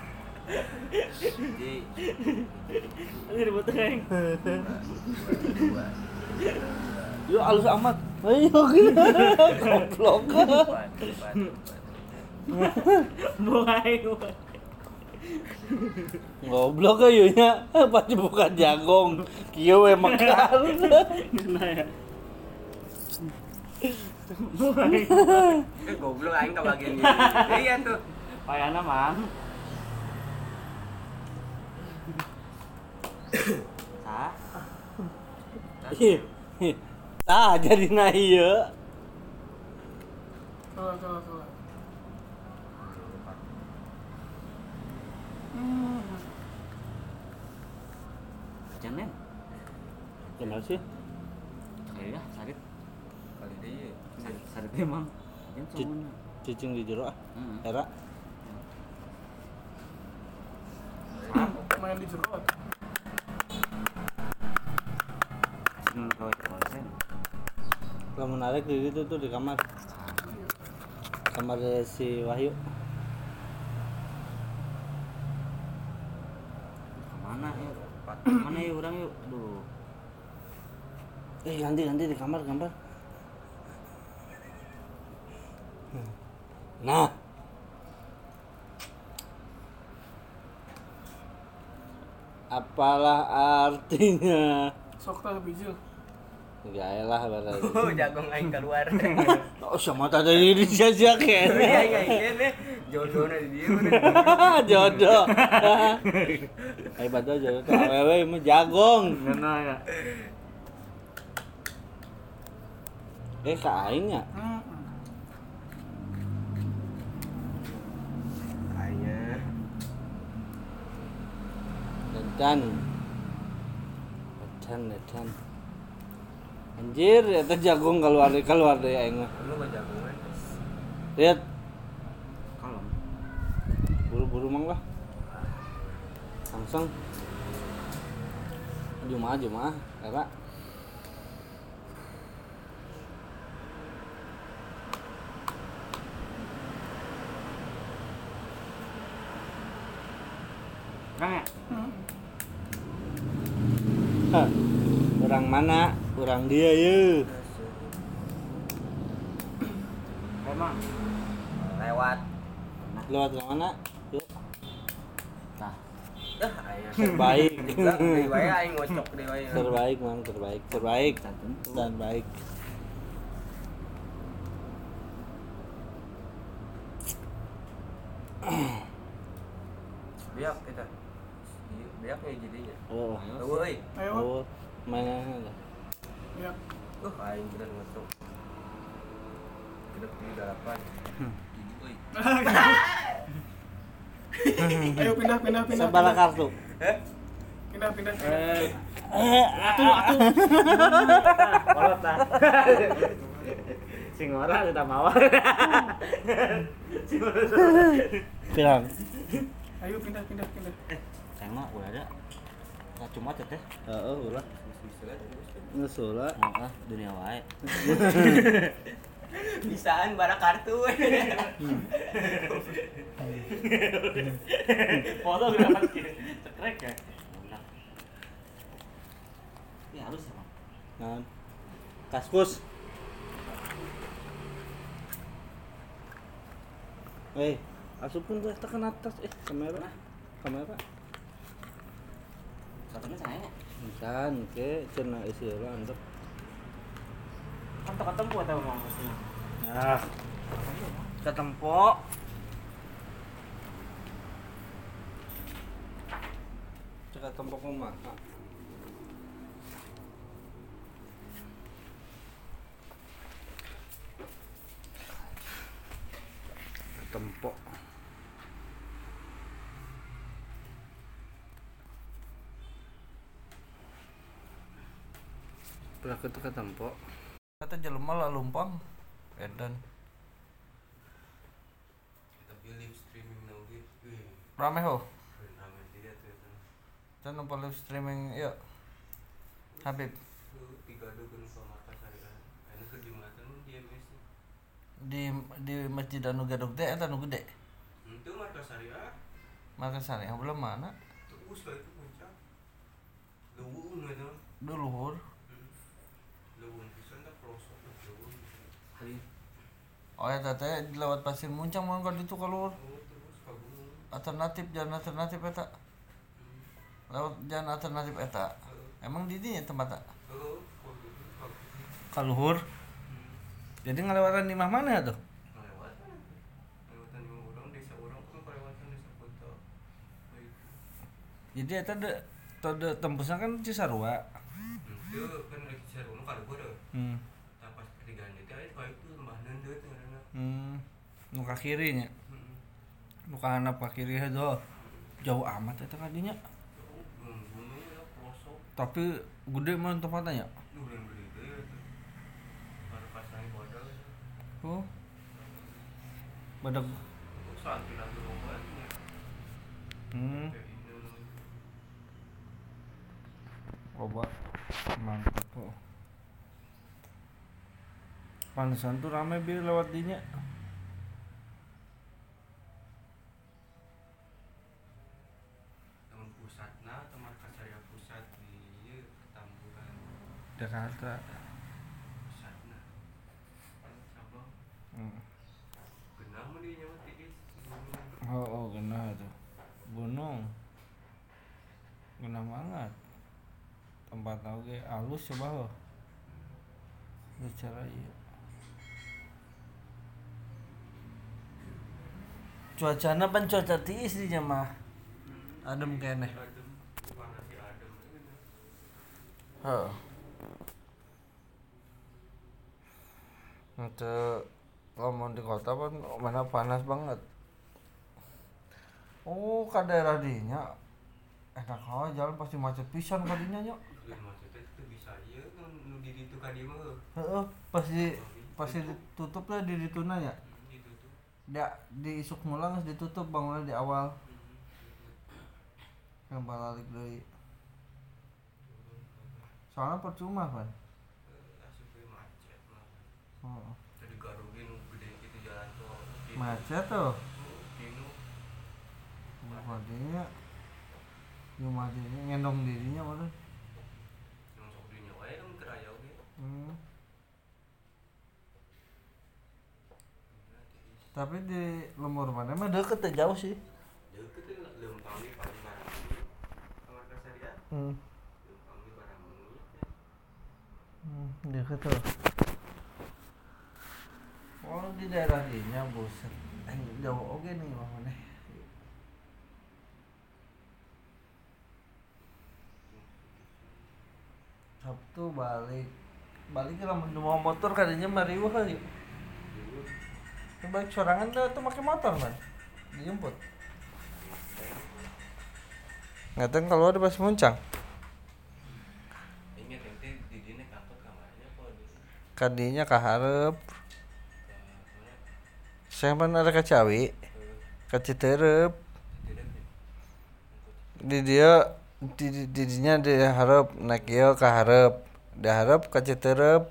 [SPEAKER 4] Ji.
[SPEAKER 5] Ini ribut aing.
[SPEAKER 2] Yo alus amat. Ayo goblok.
[SPEAKER 5] Mulai.
[SPEAKER 2] Goblok ayo nya. Pasti bukan jagong. Kieu we mekar.
[SPEAKER 5] Nah ya.
[SPEAKER 4] Goblok aing ka bagian ieu. Iya tuh.
[SPEAKER 5] Payana mang. Sah.
[SPEAKER 2] Ih, tah jadi na ieu.
[SPEAKER 3] Salah.
[SPEAKER 5] Jangan.
[SPEAKER 2] Gimana sih?
[SPEAKER 5] Kayaknya sarit.
[SPEAKER 4] Kali dia.
[SPEAKER 5] Sarit emang. Yang
[SPEAKER 2] Ci-
[SPEAKER 5] semuanya.
[SPEAKER 2] Cicing di jero ah.
[SPEAKER 5] Heeh.
[SPEAKER 2] Era.
[SPEAKER 3] Main di jerot.
[SPEAKER 5] Sing kosen.
[SPEAKER 2] Lamun narik di situ tuh di kamar. Kamar si Wahyu.
[SPEAKER 5] Kemana yuk? Kemana yuk orang yuk? Aduh.
[SPEAKER 2] Ganti di kamar. Nah. Apalah artinya?
[SPEAKER 3] Sok tah bijil.
[SPEAKER 2] Ya elah berarti.
[SPEAKER 4] Oh, jagung aing keluar.
[SPEAKER 2] Oh, sama tadi di sia-sia kene.
[SPEAKER 4] Iya, ini jodohnya di dia.
[SPEAKER 2] Jodoh. Ai padahal jodoh tuh awewe mah jagong.
[SPEAKER 5] Ngena ya.
[SPEAKER 2] Ka aing ya.
[SPEAKER 4] Aingnya
[SPEAKER 2] Edan. Anjir, eta jagung keluar deh aing mah.
[SPEAKER 4] lu mah jagungan.
[SPEAKER 2] Lihat,
[SPEAKER 5] Kalem.
[SPEAKER 2] buru-buru mang lah. Langsung. Jumaah, era.
[SPEAKER 5] Kang ya?
[SPEAKER 2] Hah. Orang mana? Orang dia ye.
[SPEAKER 5] Emang.
[SPEAKER 4] Lewat.
[SPEAKER 2] Lewat ke mana? Yuk.
[SPEAKER 5] Nah,
[SPEAKER 4] Aing
[SPEAKER 2] Terbaik.
[SPEAKER 4] juga di wae aing ngocok di wae.
[SPEAKER 2] Terbaik, Mang, terbaik.
[SPEAKER 5] dan tentu.
[SPEAKER 2] Dan baik.
[SPEAKER 4] Biak kita. Biak nih jadinya.
[SPEAKER 2] Oh.
[SPEAKER 4] Euy.
[SPEAKER 3] Ayo.
[SPEAKER 2] Oh, mainan lah.
[SPEAKER 3] Ya.
[SPEAKER 4] Aing bener ngocok. Kita di dalapan. Euy.
[SPEAKER 3] Ayo pindah.
[SPEAKER 2] Sabala kartu.
[SPEAKER 3] Pindah.
[SPEAKER 5] Kolot tah. Sing ora kita mawar.
[SPEAKER 2] Pirang.
[SPEAKER 3] Ayo pindah.
[SPEAKER 5] Saya mah udah ada. Nah, cuma teh.
[SPEAKER 2] Heeh, ulah. Ngesula.
[SPEAKER 5] Heeh, dunia wae.
[SPEAKER 4] Bisaan bara kartu.
[SPEAKER 1] Foto dapat cekrek ya.
[SPEAKER 5] Ini halus emang.
[SPEAKER 2] Nah. Kaskus. Asupun tuh tekan atas kamera.
[SPEAKER 5] Satunya saya.
[SPEAKER 2] Kan ke cenah isi urang untuk.
[SPEAKER 1] Kantor buat apa mau sini?
[SPEAKER 2] Ah,
[SPEAKER 4] Ketempo.
[SPEAKER 2] cek tempok mah. Tempok. Pernah ke tempok. Kata jelema lah lumpang. Edan.
[SPEAKER 4] Kita pilih streaming nanti.
[SPEAKER 2] Rame ho.
[SPEAKER 4] Rame dia tuh.
[SPEAKER 2] Dan nomor live streaming yuk. Habib.
[SPEAKER 4] Tiga dukun sama kasarian. Ini ke Jumatan dia mesti.
[SPEAKER 2] Di Masjid Anu Gadog teh eta nu gede.
[SPEAKER 4] Itu markas syariah.
[SPEAKER 2] Markas yang belum mana?
[SPEAKER 4] Terus lah itu puncak. Luwun itu.
[SPEAKER 2] Duluhur.
[SPEAKER 4] Luwun pisan tak pelosok luwun.
[SPEAKER 2] Oh eta teh lewat Pasir Muncang mah kan itu keluar.
[SPEAKER 4] Oh terus ka gunung.
[SPEAKER 2] Jalan alternatif eta. Lewat jalan alternatif eta. Emang di dinya tempatna?
[SPEAKER 4] Oh,
[SPEAKER 2] Kaluhur. Jadi ngelewatan di mana tuh?
[SPEAKER 4] lewatan yang orang desa orang tuh
[SPEAKER 2] Jadi eta tode tembusna kan Cisarua.
[SPEAKER 4] Itu kan di Cisarua nu kaluhur deh. Pas pertigaan itu aya itu lembah neundeut ngaranna.
[SPEAKER 2] Nu ka kiri nya. Nu ka handap ka kiri heuh. Jauh amat eta ka dinya.
[SPEAKER 4] Gunung ya pelosok.
[SPEAKER 2] Tapi gede mah tempatnya nya.
[SPEAKER 4] Udah gede teh. Baru pasang bodol.
[SPEAKER 2] Oh. Badag.
[SPEAKER 4] Santai lagi lobatnya.
[SPEAKER 2] Coba mantap tuh. Panesan tuh rame bir lewat dinya.
[SPEAKER 4] Teman pusatna, teman Kasaya pusat di ieu Petamburan.
[SPEAKER 2] Jakarta.
[SPEAKER 4] Pusatna. Sabang.
[SPEAKER 2] Hmm.
[SPEAKER 4] Genah mun di nyawa tiis.
[SPEAKER 2] Oh, genah tuh. Gunung. Genah banget. Tempat oge alus coba lo. Bicara ieu. Cuacana pan cuaca tiis di mah. Adem keneh.
[SPEAKER 4] Adem, panas di adem.
[SPEAKER 2] Heeh. Untuk ngomong di kota pun mana panas banget. Oh, ka daerah dinya enak aja jalan pasti macet pisan ka dinya nya.
[SPEAKER 4] Maksudnya itu bisa ieu nu di ditu ka dieu mah.
[SPEAKER 2] Heeh, pasti ditutup lah di dituna nya.
[SPEAKER 4] Ditutup.
[SPEAKER 2] Da di isuk mulang geus ditutup bangunnya di awal. Yang balik deui. Soalnya percuma kan.
[SPEAKER 4] Asup we macet mah.
[SPEAKER 2] Heeh.
[SPEAKER 4] Tadi garugi nu gede kitu jalan tol.
[SPEAKER 2] Macet tuh.
[SPEAKER 4] Kinu.
[SPEAKER 2] Madinya rumah dirinya ngendong dirinya mana?
[SPEAKER 4] Yang sok dinya wae kan keraya oge.
[SPEAKER 2] Tapi di lemur mana mah deket ya, jauh sih.
[SPEAKER 4] Deukeut teh leumpang di paling barang. Kamar Kasaria. Leumpang di barang menit.
[SPEAKER 2] Deket tuh. Oh di daerah dinya buset. Jauh oke nih mah mana? Sabtu balik ke lamun mau motor kadinya mariwah kali. Balik sorangan tuh pakai motor kan. Dijemput. Ngateng kalau ada pas muncang.
[SPEAKER 4] Ingat ente di dine kantor kamarnya apa di?
[SPEAKER 2] Kadinya kaharep. Saya mana ada kacawi. Kaciterep. Di dia didinya diharap naik ieu kaharep. Diharap kaciterep.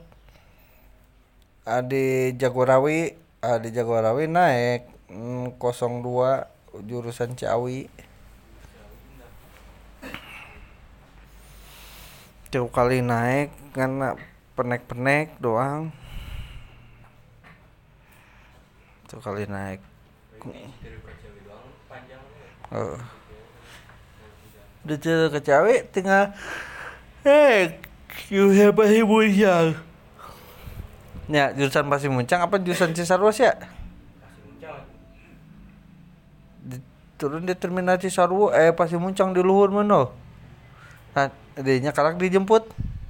[SPEAKER 2] Di Jagorawi naik 02 jurusan Ciawi. Jauh kali naik karena penek-penek doang. Tuh kali naik.
[SPEAKER 4] Dari Kacawi doang panjang
[SPEAKER 2] Udah cerita ke Cawi tinggal you have a hiburan. Ya, jurusan Pasir Muncang apa jurusan Cisarua sih ya?
[SPEAKER 4] Pasir Muncang.
[SPEAKER 2] Turun di terminal Cisarua, Pasir Muncang di luhur mana? Nah, dinya kalak dijemput.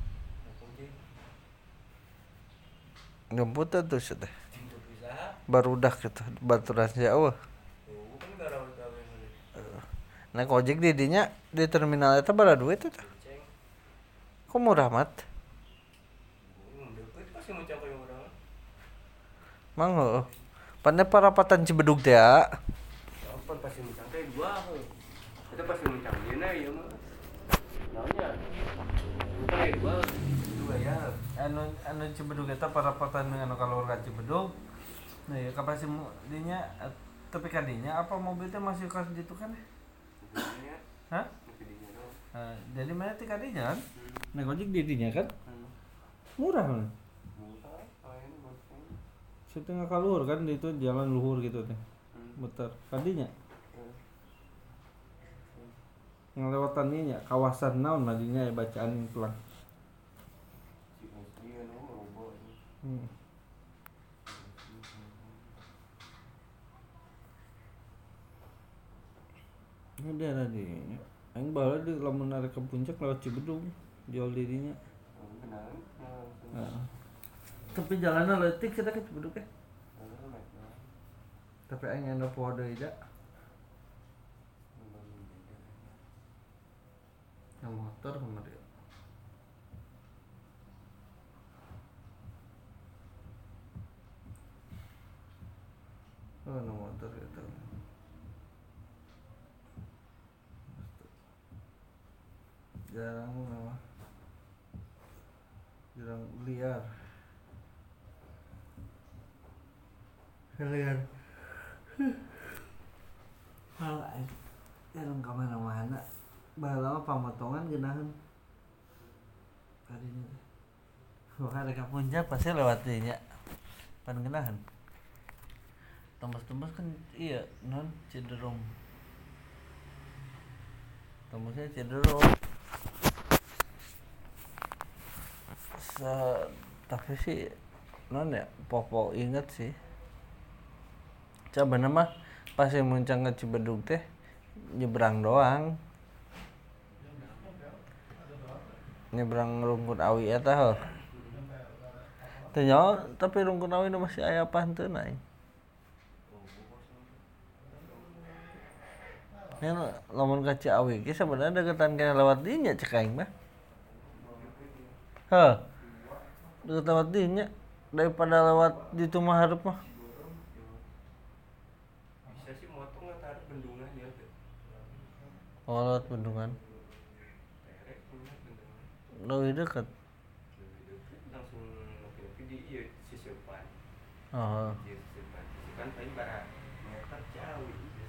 [SPEAKER 2] Jemput tuh sudah. Barudak gitu, baturan jauh.
[SPEAKER 4] Kan garawat gawe.
[SPEAKER 2] Naik ojek di dinya di terminal eta bara duit eta. Kok murah mat?
[SPEAKER 4] Deukeut Pasir Muncang ka urang.
[SPEAKER 2] Mang heuh. Pane parapatan Cibedug teh ya.
[SPEAKER 4] Apa Pasir Muncang teh dua heuh. Eta Pasir Muncang ieu na ieu mah. Naonnya? Bukan dua ya.
[SPEAKER 2] Anu Cibedug eta parapatan anu kaluar ka Cibedug. Nah, ya kapasi dinya tapi kadinya apa mobil teh masih kas ditu kan?
[SPEAKER 4] Bukannya
[SPEAKER 2] Hah?
[SPEAKER 4] kedinya dong.
[SPEAKER 2] Jadi mana ti kadinya kan? Naik ojek di dinya kan? Murah kan?
[SPEAKER 4] Murah, lain macam.
[SPEAKER 2] Setengah kaluhur kan di itu jalan luhur gitu teh. Muter kadinya. Yang lewatan nya kawasan naon madinya bacaan pelang.
[SPEAKER 4] Si Mesri anu lobo.
[SPEAKER 2] Ada dinya. Aing baheula di lamun arek ke puncak lewat Cibedung jual dirinya.
[SPEAKER 4] Benar.
[SPEAKER 2] Heeh. Tapi jalanna leutik kita ke Cibedung teh. Tapi aing anda poho deui da. Yang motor kemarin. Oh, no motor gitu. Jarang liar. Liar. Halah, jarang kemana-mana. Bahala mah pamotongan geunaheun. Tadinya. Wah, ada ka puncak pasti lewat dieu nya. Pan geunaheun. Tembus-tembus kan iya non Ciderung. Tembusnya Ciderung. Tapi sih non ya popo inget sih. Coba nama pas yang muncang ke Cibedug teh nyebrang doang. Nyebrang Rungkun Awi eta heuh. Teu nyaho tapi Rungkun Awi masih aya panteuna. Nya lamun ka Ciawi ge sebenarnya deketan kana lewat dieu nya cek aing mah. Heuh. Deket lewat dieu nya daripada lewat di Tumah Hareup mah.
[SPEAKER 4] Bisa sih motong ntar bendungan ya teh.
[SPEAKER 2] Oh, lewat bendungan.
[SPEAKER 4] Terek punya bendungan.
[SPEAKER 2] Leuwih deket.
[SPEAKER 4] Langsung ngopi di ieu Sisipan.
[SPEAKER 2] Oh.
[SPEAKER 4] Sisipan paling bara meter jauh.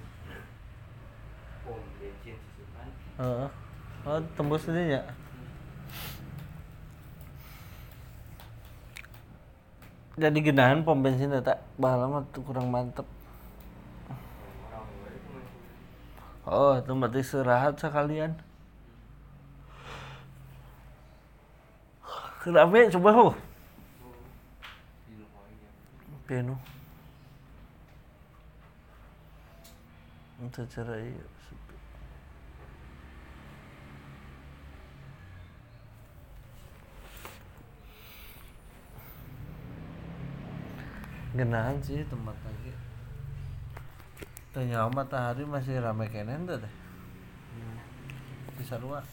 [SPEAKER 4] Pom bensin Sisipan.
[SPEAKER 2] Heeh. Oh, tembus dieu nya. Jadi geunahan pom bensin eta bahala mah kurang mantep. Oh, itu berarti istirahat sekalian. Kenapa coba ho? Penuh. Untuk cara iya. Genahan sih tempat lagi. Tanya matahari masih ramai kenen tuh deh. Bisa luar.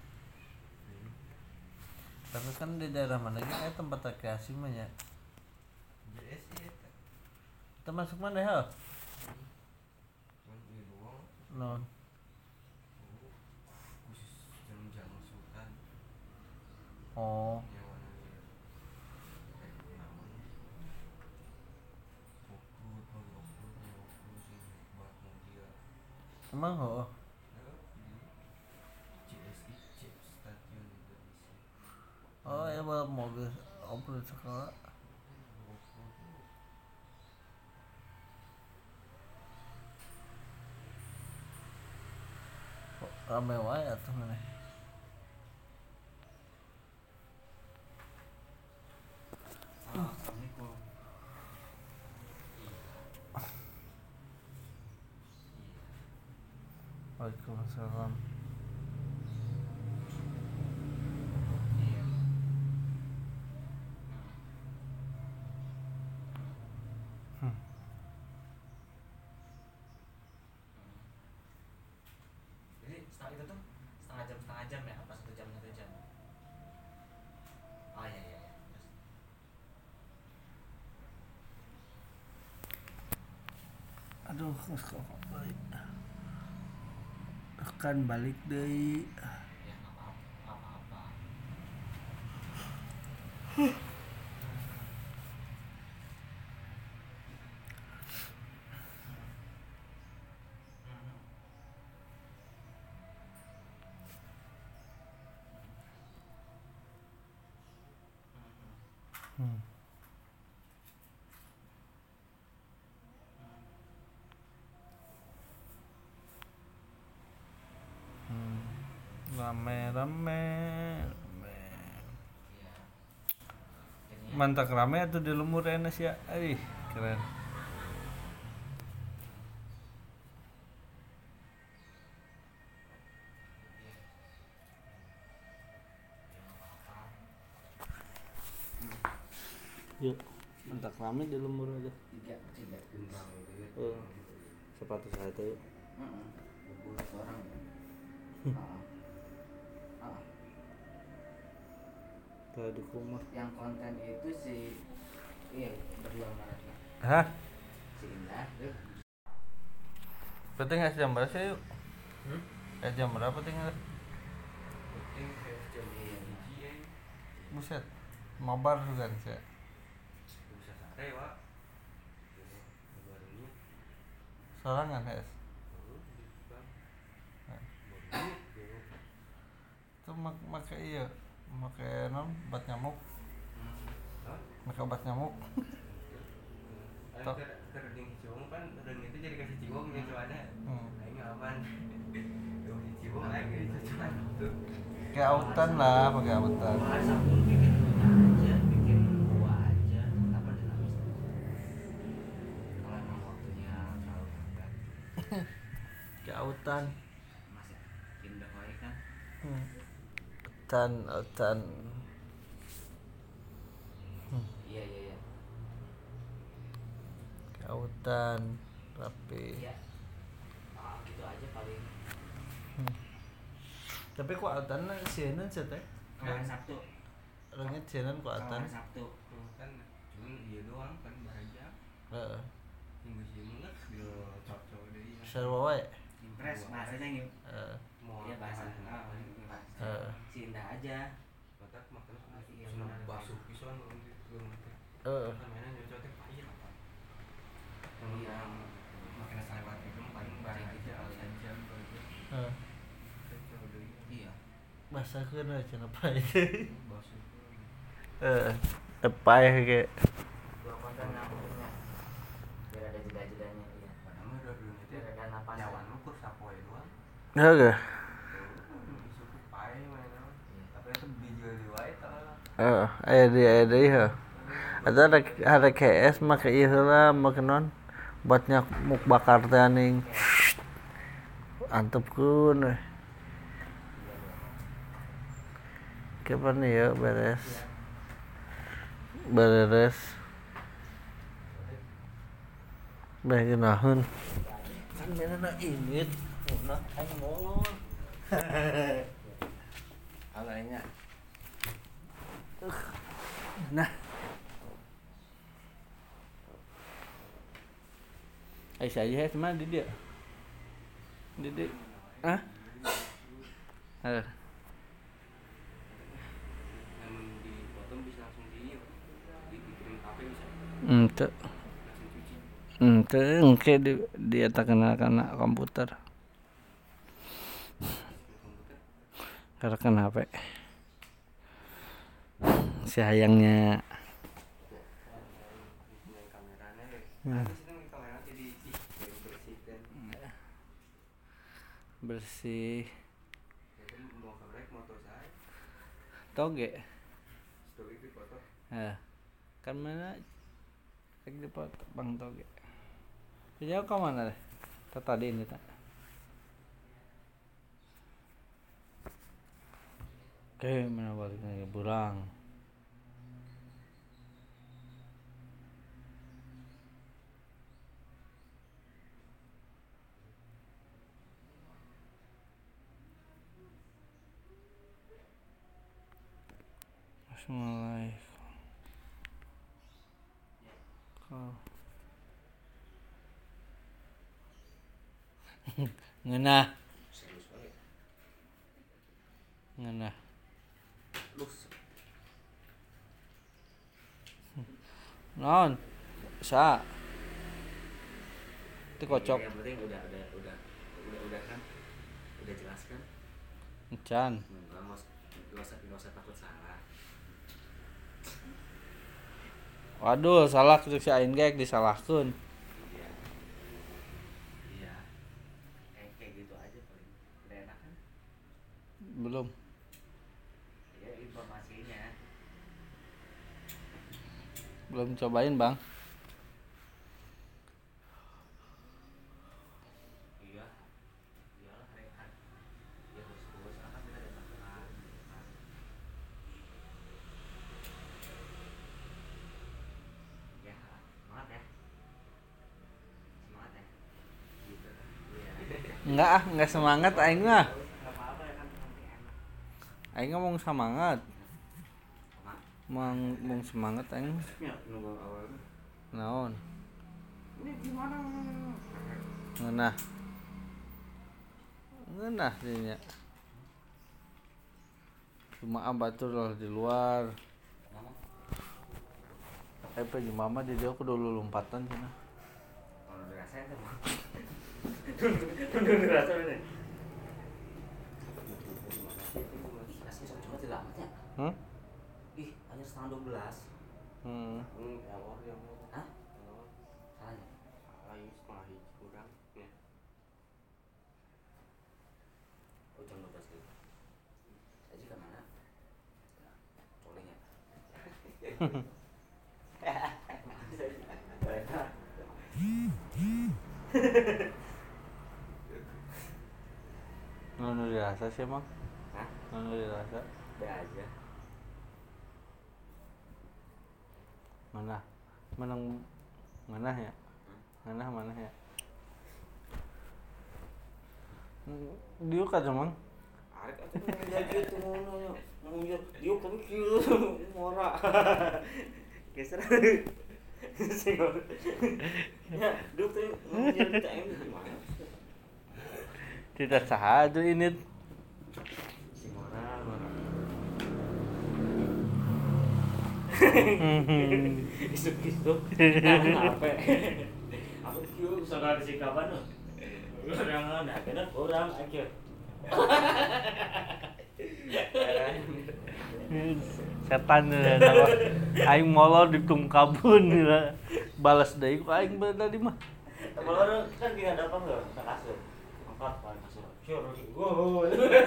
[SPEAKER 2] Tapi kan di daerah mana kayak tempat rekreasi mah ya. Kita masuk mana ya? Non. Oh. Emang oh. Oh ya balap mobil off-road sekolah. Rame wae atuh maneh.
[SPEAKER 5] Assalamualaikum.
[SPEAKER 2] Waalaikumsalam.
[SPEAKER 5] Jadi itu tuh setengah jam ya, apa 1 jam 1 jam? Oh iya. Terus.
[SPEAKER 2] Aduh, kok balik. Akan balik deui.
[SPEAKER 5] Ya enggak apa-apa.
[SPEAKER 2] Rame.
[SPEAKER 5] Iya. Jadinya
[SPEAKER 2] Mantak rame atuh di Lumur enes ya. Ih, keren. Yuk, entak rame di lembur aja.
[SPEAKER 5] Tiga
[SPEAKER 4] Gembang itu ya.
[SPEAKER 2] Sepatu saya tuh.
[SPEAKER 5] bubur orang ya.
[SPEAKER 2] Tuh di rumah.
[SPEAKER 5] Yang konten itu si berdua Maret lah.
[SPEAKER 2] Hah?
[SPEAKER 5] Si Indah tuh.
[SPEAKER 2] Penting jam berapa sih yuk? Jam berapa tinggal?
[SPEAKER 4] Penting kayak jam
[SPEAKER 5] Iya.
[SPEAKER 4] hiji ya.
[SPEAKER 2] Buset, mabar juga sih.
[SPEAKER 4] Bisa sare Pak. Barunya.
[SPEAKER 2] Sorangan es. Itu make iya, make non obat nyamuk, make obat nyamuk.
[SPEAKER 4] Kerding ciwong kan kerding itu jadi kasih ciwong yang ada. Aing aman. Yo ciwong aing cuman tuh.
[SPEAKER 2] Kayak autan lah, pakai autan.
[SPEAKER 5] Wah, sabun bikin aja, bikin buah aja. Kenapa dinamis? Kalau emang waktunya terlalu mepet,
[SPEAKER 2] Kayak autan.
[SPEAKER 5] masih pindah wae kan.
[SPEAKER 2] Autan.
[SPEAKER 5] Iya.
[SPEAKER 2] Kayak autan, rapi.
[SPEAKER 5] Iya. Gitu aja paling.
[SPEAKER 2] Tapi kok autan sieun sih teh?
[SPEAKER 5] Kemarin Sabtu.
[SPEAKER 2] Orangnya sieun kok autan.
[SPEAKER 5] Kemarin Sabtu.
[SPEAKER 4] Kan cuma iya doang kan baraja.
[SPEAKER 2] Heeh.
[SPEAKER 4] Minggu sih enggak dia cocok deui.
[SPEAKER 2] Sarua wae.
[SPEAKER 5] Impres bahasanya gitu.
[SPEAKER 2] Heeh.
[SPEAKER 5] Iya bahasa. Si Indah aja.
[SPEAKER 4] Matak makan
[SPEAKER 5] Iya,
[SPEAKER 4] senang
[SPEAKER 5] benar.
[SPEAKER 4] basuh pisan belum.
[SPEAKER 2] Heeh.
[SPEAKER 4] Namanya nyocoknya pahit apa?
[SPEAKER 5] Iya.
[SPEAKER 4] Makin selewat itu paling barang aja jam gitu.
[SPEAKER 2] Heeh.
[SPEAKER 4] Cocok deui.
[SPEAKER 5] Iya.
[SPEAKER 2] Basakeun we cenah itu.
[SPEAKER 4] Basuh.
[SPEAKER 2] Tepai ge.
[SPEAKER 5] Dua konten yang punya. Biar ada jeda-jedanya iya.
[SPEAKER 4] Padahal mah udah dulu itu
[SPEAKER 5] Biar ada napas.
[SPEAKER 4] nyawan lu kur sapoe doang.
[SPEAKER 2] Heeh.
[SPEAKER 4] Suku pae mana. Tapi itu dijual di wae tah.
[SPEAKER 2] Aya deui heuh. Ada KS make ieu heula make non buat nyamuk bakar teh aning. Antepkeun we. Kapan ya beres? Beres. Bae naheun. Kan menana ingit. Nah, aing molor. Alainya. Nah. Aisyah aja sama di dia. Di. Hah?
[SPEAKER 4] Namun dipotong bisa langsung dikirim HP bisa.
[SPEAKER 2] Ente.
[SPEAKER 4] Langsung cuci.
[SPEAKER 2] Ente engke dia tak kenal kana komputer. Karena kan HP. Si hayangnya.
[SPEAKER 4] Dengan kameranya habis itu kamera jadi bersihkan.
[SPEAKER 2] Bersih.
[SPEAKER 4] Jadi mau kameranya moto saya.
[SPEAKER 2] Toge.
[SPEAKER 4] Story itu foto.
[SPEAKER 2] Kan mana lagi di Bang Toge. Dia ke mana deh? Tadi ini tak. Oke, mana baliknya burang. Assalamualaikum. Ngeunah. Ngeunah. Non. Sa. Itu kocok.
[SPEAKER 5] Yang penting udah kan. Udah jelas kan.
[SPEAKER 2] Encan.
[SPEAKER 5] Enggak usah takut salah.
[SPEAKER 2] Waduh, salah kudu si aing ge disalahkeun.
[SPEAKER 5] Iya. Kayak gitu aja paling. Udah enak kan?
[SPEAKER 2] Belum.
[SPEAKER 5] Ya informasinya.
[SPEAKER 2] Belum cobain, Bang.
[SPEAKER 5] Iya. Iyalah rehat. Ya terus akan kita ada masalah.
[SPEAKER 2] Enggak semangat aing mah.
[SPEAKER 1] Nggak apa-apa ya kan nanti enak.
[SPEAKER 2] Aing ngomong semangat. Mong semangat aing.
[SPEAKER 4] Ya, nunggu awal.
[SPEAKER 2] Naon?
[SPEAKER 4] Ini gimana?
[SPEAKER 2] Ngeunah dinya. Cuma batur lah di luar. Pe mama di dia aku dulu lompatan cenah.
[SPEAKER 4] Kalau dirasain tuh.
[SPEAKER 1] Tunggu rasa ini.
[SPEAKER 5] Asli coba tidak amat ya. Ih, hanya setengah 12.
[SPEAKER 4] Ya Allah, ya Allah.
[SPEAKER 5] Hah? Salahnya?
[SPEAKER 4] Lagi setengah hiji kurang. Ya.
[SPEAKER 5] Oh, jam 12 gitu. Jadi ke mana? Coleng ya.
[SPEAKER 2] Nunu dirasa sih emang.
[SPEAKER 4] Hah?
[SPEAKER 2] Nunu dirasa.
[SPEAKER 4] Be aja.
[SPEAKER 2] Mana ya? Mana ya? Dia kan emang.
[SPEAKER 4] Arek atuh menjadi itu ngono. Munjur diuk tapi kieu ngora. Geser. Sing ngono. Ya, diuk teh munjur kita ini gimana?
[SPEAKER 2] Tidak sah aja ini.
[SPEAKER 4] Sing ngora. Isuk-isuk. Apa? Aku kieu
[SPEAKER 1] Saudara si kapan tuh? Orang ada kena orang aja.
[SPEAKER 2] Setan ya, aing molor di tungkabun ya. Balas deui ku aing beda di mah.
[SPEAKER 1] Kalau orang kan dia ada apa enggak? Kita kasur. Angkat paling kasur. Sure. Wow.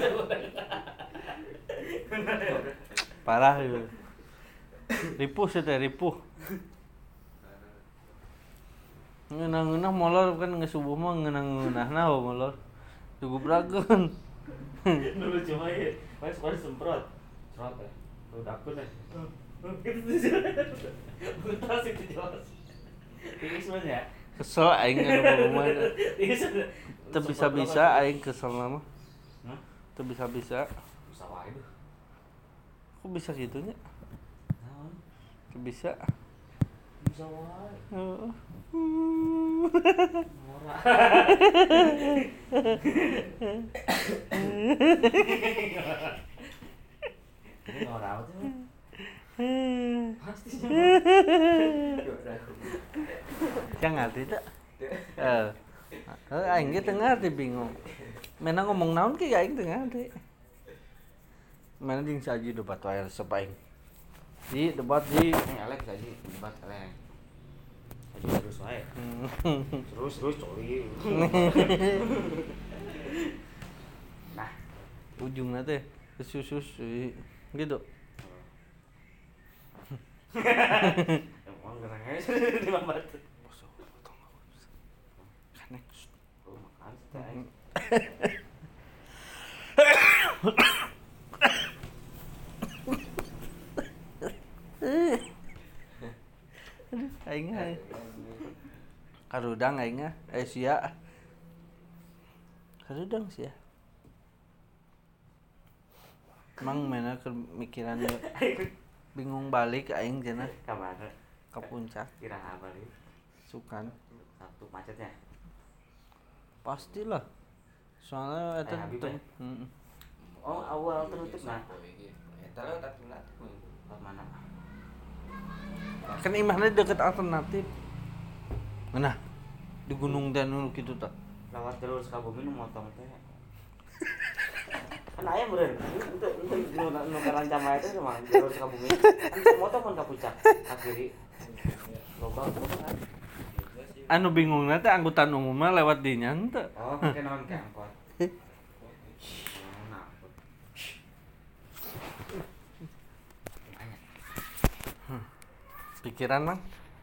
[SPEAKER 2] Parah itu. Ripuh sih teh ripuh. Ngeunah molor kan geus subuh mah ngeunah-ngeunahna molor. Dugubrageun.
[SPEAKER 1] Dulu cuma ya. Pas semprot. Semprot ya. Udah akun ya. Buta sih itu jelas. Ini sebenarnya.
[SPEAKER 2] Kesel aing anu rumah.
[SPEAKER 1] Ini sebenarnya.
[SPEAKER 2] Teu bisa-bisa aing kesel mah.
[SPEAKER 1] Hah?
[SPEAKER 2] Teu bisa-bisa.
[SPEAKER 5] Bisa wae deh.
[SPEAKER 2] Kok bisa gitunya?
[SPEAKER 5] Naon?
[SPEAKER 2] Teu bisa.
[SPEAKER 5] Bisa wae.
[SPEAKER 2] Heeh.
[SPEAKER 5] Ngora. Ini ngora apa tuh? Pasti sih.
[SPEAKER 2] Yang ngerti tak? Aing ge teu ngarti bingung. Mena ngomong naon ki aing teu ngarti. Mana jeung saji debat wae resep aing. Di debat di
[SPEAKER 5] Ini Alex tadi debat Alex. Tadi terus wae. Terus coli. Nah,
[SPEAKER 2] ujungna teh kesusus gitu.
[SPEAKER 5] emang gerang aja di mambat.
[SPEAKER 2] Kanek.
[SPEAKER 5] Oh, makan teh.
[SPEAKER 2] Aing karudang aing sia. Karudang sia. Mang mana mikiran bingung balik aing cenah
[SPEAKER 5] Kabar
[SPEAKER 2] ke puncak
[SPEAKER 5] kira apa nih?
[SPEAKER 2] sukan.
[SPEAKER 5] Sabtu macetnya.
[SPEAKER 2] Pastilah. Soalnya eta
[SPEAKER 5] Habib
[SPEAKER 2] tuh.
[SPEAKER 5] ya? Oh, awal tertutup nah. Eta lewat alternatif. Lewat mana?
[SPEAKER 2] Kan imahna deket alternatif. Nah, di Gunung Danau kitu tah.
[SPEAKER 5] Lewat jalur Sukabumi nu motong teh. Kan aya meureun. Untuk nu karancam aya teh mah jalur Sukabumi. Kan motong kan ka puncak ka kiri. Loba kan.
[SPEAKER 2] Anu bingungna teh angkutan umumna lewat dinya henteu.
[SPEAKER 5] Oh, pakai naon ke angkot. Nah,
[SPEAKER 2] Pikiran mang.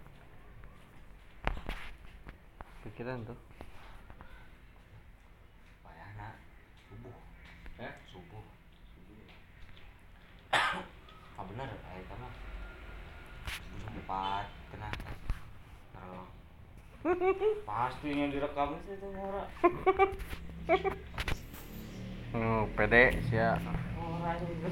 [SPEAKER 2] Pikiran tuh.
[SPEAKER 5] bayana subuh. Subuh. Ah bener aya eta mah. Subuh jam 4 kena. Kalau pasti yang direkam itu ngora.
[SPEAKER 2] Pede sia.
[SPEAKER 4] Orang itu.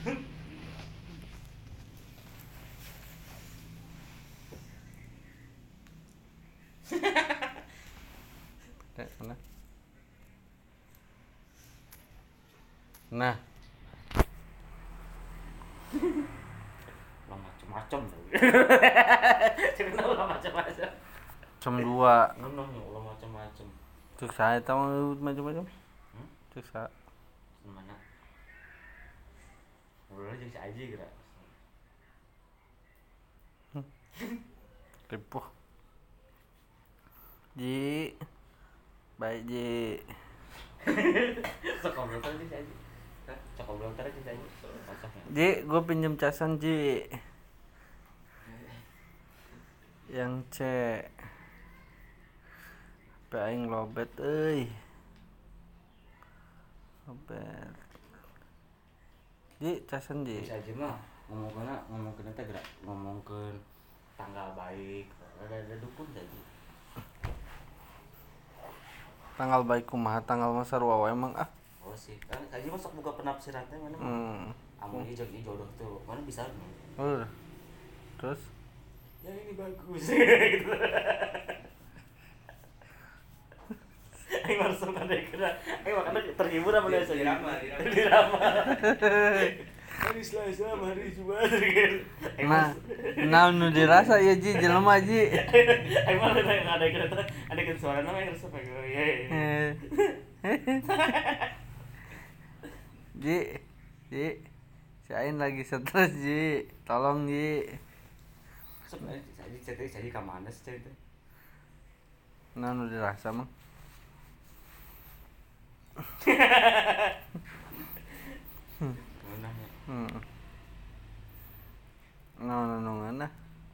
[SPEAKER 2] Pede mana? Nah,
[SPEAKER 4] Lo macem-macem. Kenapa lo macem-macem?
[SPEAKER 2] jam 2.
[SPEAKER 4] Ngono nih, lo macem-macem.
[SPEAKER 2] Cek saya tahu macam-macam. Cek saya.
[SPEAKER 4] Mana? Udah aja si aja kira.
[SPEAKER 2] Ripuh. Ji. Baik Ji.
[SPEAKER 4] Sekolah tadi si aja. Sekolah tadi si aja. Kosong ya.
[SPEAKER 2] Ji, gue pinjem casan Ji. Yang C. HP aing lobet euy. Lobet. Ji, casan Ji.
[SPEAKER 4] Si aja mah ngomongkeun teh gerak ngomongkeun tanggal baik. Ada dukun jadi.
[SPEAKER 2] Tanggal baik kumaha tanggal mah sarua wae emang ah.
[SPEAKER 4] Oh sih, kan aja masuk buka penafsiran teh mana mah. Amun ieu jeung jodoh tuh, mana bisa nih.
[SPEAKER 2] Terus
[SPEAKER 4] Ya ini bagus gitu. Aing langsung ada kena. Aing makanya terhibur sama dia saja. Dirama. Hari Selasa, hari Jumat gitu.
[SPEAKER 2] nah nu dirasa ya Ji jelema Ji.
[SPEAKER 4] Aing mah ada kena ada kena suara nama yang resep ya.
[SPEAKER 2] Ji, si Ain lagi stres Ji, tolong Ji.
[SPEAKER 4] Sebenarnya jadi ke mana sih cerita?
[SPEAKER 2] Nah nu dirasa mah.
[SPEAKER 4] Menanya.
[SPEAKER 2] Ngana.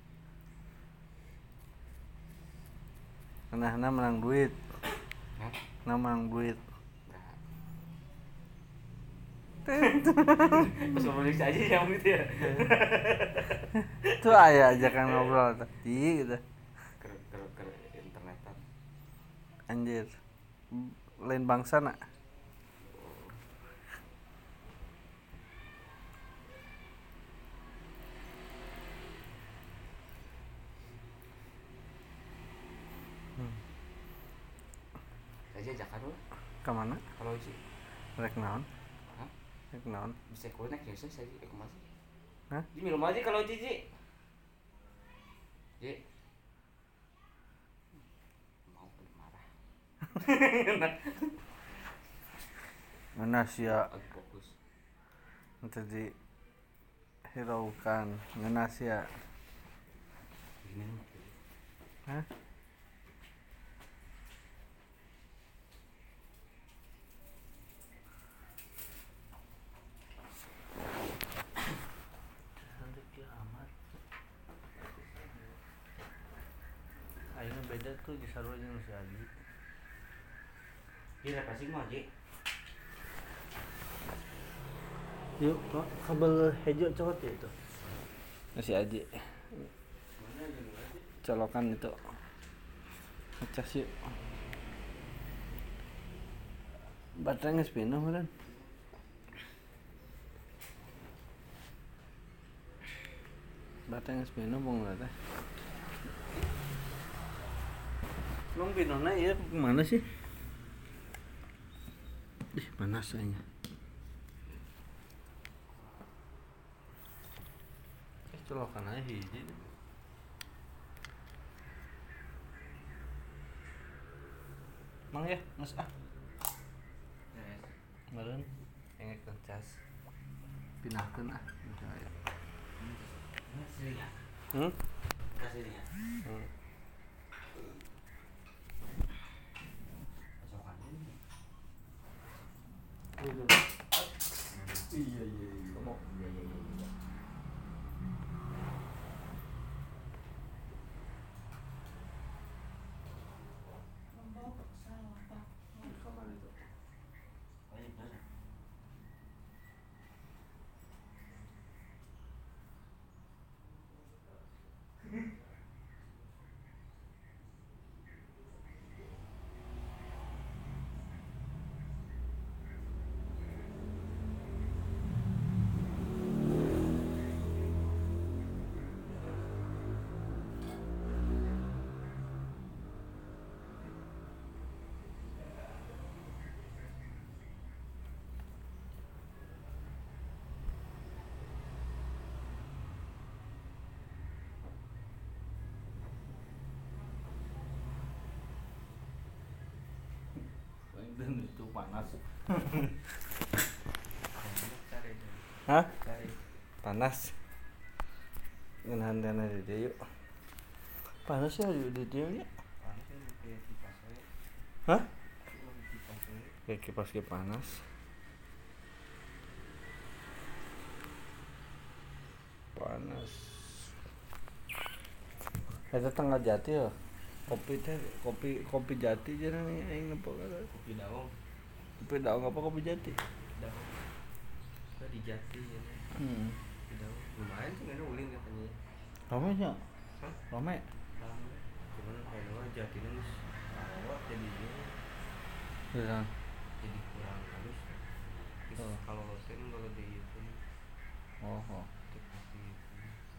[SPEAKER 2] Nah menang duit.
[SPEAKER 4] Hah?
[SPEAKER 2] Nah menang duit.
[SPEAKER 4] Pas ngomongin aja yang gitu ya.
[SPEAKER 2] Itu aya ajakan ngobrol tadi gitu.
[SPEAKER 4] Ke internetan.
[SPEAKER 2] Anjir. Lain bangsa nak.
[SPEAKER 4] Aja ajakan lu.
[SPEAKER 2] Kemana?
[SPEAKER 4] Kalau sih
[SPEAKER 2] Rek naon?
[SPEAKER 4] Hah?
[SPEAKER 2] Rek naon?
[SPEAKER 4] bisa connect ya saya kumaha sih?
[SPEAKER 2] Hah?
[SPEAKER 4] Ji minum aja kalau Ji. Ji. Mau marah.
[SPEAKER 2] Mana sia
[SPEAKER 4] Lagi fokus.
[SPEAKER 2] tadi hiraukan ngena sia.
[SPEAKER 4] Gimana mah?
[SPEAKER 2] Hah? Aing beda tuh di sarua jeung si Adi.
[SPEAKER 4] Ji repasing mah Ji.
[SPEAKER 2] Yuk, kok kabel hijau cokot ya itu. Si Aji. Colokan itu. Ngecas yuk. Baterai geus penuh meureun. Baterai geus penuh bong teh. Long pinona ieu kemana sih? Ih, panas kayaknya. Colokan aja hiji. Mang ya, Mas ah. Meureun engek ngecas. Pinahkeun ah.
[SPEAKER 4] Kasihnya.
[SPEAKER 2] Hmm?
[SPEAKER 4] Kasihnya. Pasokan ini. Iya. Ngomong. Iya.
[SPEAKER 2] itu panas.
[SPEAKER 5] Cari itu.
[SPEAKER 2] Hah?
[SPEAKER 5] Cari.
[SPEAKER 2] Panas. Ngenahan dana di dieu yuk. Panas ya di dieu nya.
[SPEAKER 5] Panas kan kayak kipas we.
[SPEAKER 2] Hah?
[SPEAKER 5] Kipas we.
[SPEAKER 2] Kayak kipas ge panas. Panas. Eta tanggal jati ya. Kopi teh kopi jati jeung aing apa kata.
[SPEAKER 5] Kopi daun.
[SPEAKER 2] Kopi daun apa kopi jati?
[SPEAKER 5] Daun. Kita di Jati ya. Kopi daun. Lumayan sih kan ulin katanya.
[SPEAKER 2] Rame nya.
[SPEAKER 5] Hah?
[SPEAKER 2] Rame.
[SPEAKER 5] Rame. Cuman kayaknya Jati ini awak jadinya
[SPEAKER 2] Ya.
[SPEAKER 5] jadi kurang halus. Terus
[SPEAKER 2] Oh.
[SPEAKER 5] kalau losen kalau di itu
[SPEAKER 2] Oh.
[SPEAKER 5] seperti itu.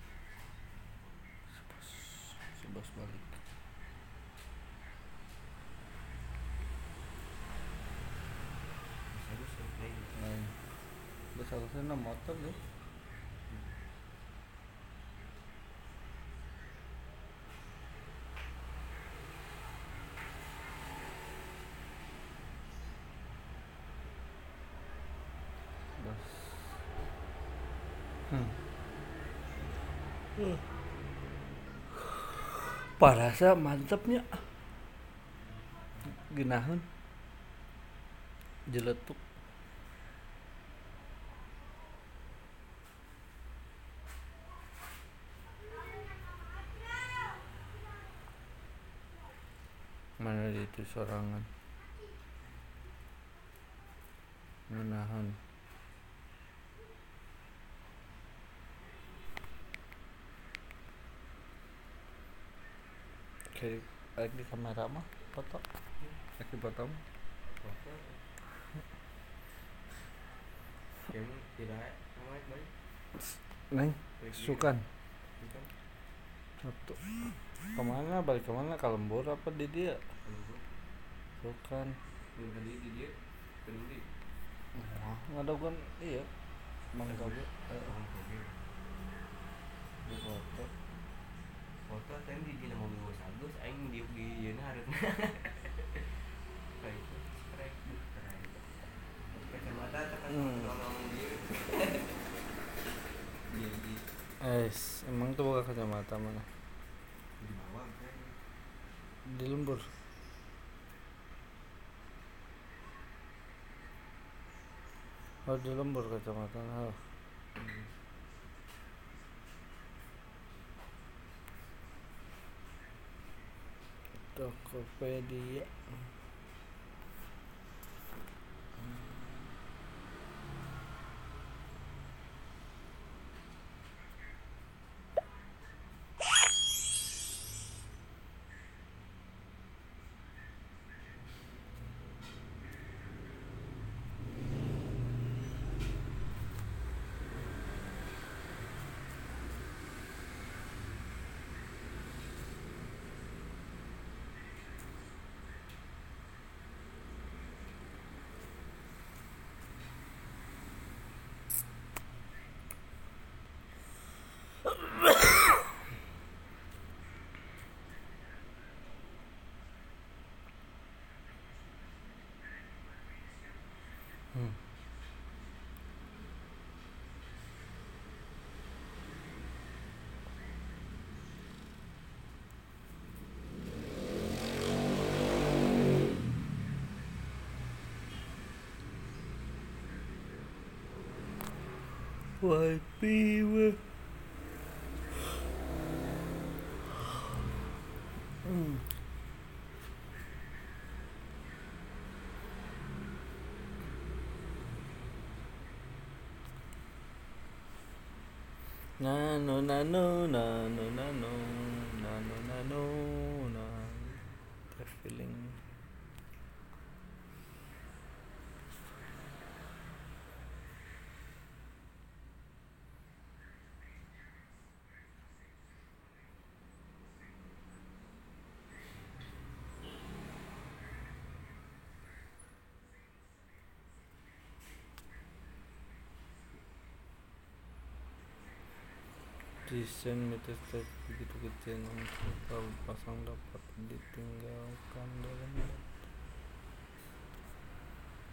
[SPEAKER 2] Sebas balik.
[SPEAKER 5] Halus sampai
[SPEAKER 2] Lain. Besar-besarnya motor deh. Bas. Parasa mantepnya. Genaheun. Jeletuk. Mana itu sorangan. Menahan. Kayak di kamera mah foto. Lagi foto mah.
[SPEAKER 5] foto. Kayaknya tidak namanya baik.
[SPEAKER 2] Neng, sukan.
[SPEAKER 5] Bukan.
[SPEAKER 2] Satu. Kemana? Balik kemana? Ke Lembur apa di dia? Sukan.
[SPEAKER 5] Belum tadi di dia peduli.
[SPEAKER 2] Nggak ada kan? Iya. Mang Toge.
[SPEAKER 5] Orang Toge.
[SPEAKER 2] Di foto.
[SPEAKER 5] Foto tadi di dina mobil gue sagus, aing di yeuna hareup. Kayak itu, strek keren. Kacamata tekan ngomong dia. Jadi
[SPEAKER 2] Emang tuh buka kacamata mana?
[SPEAKER 5] di bawah kan.
[SPEAKER 2] Di Lembur. Oh di Lembur kacamata. Oh. Tokopedia. Wifi weh. Nano nano nano nano nano nano nano feeling. Desain metastatik begitu kecil kalau pasang dapat ditinggalkan dalam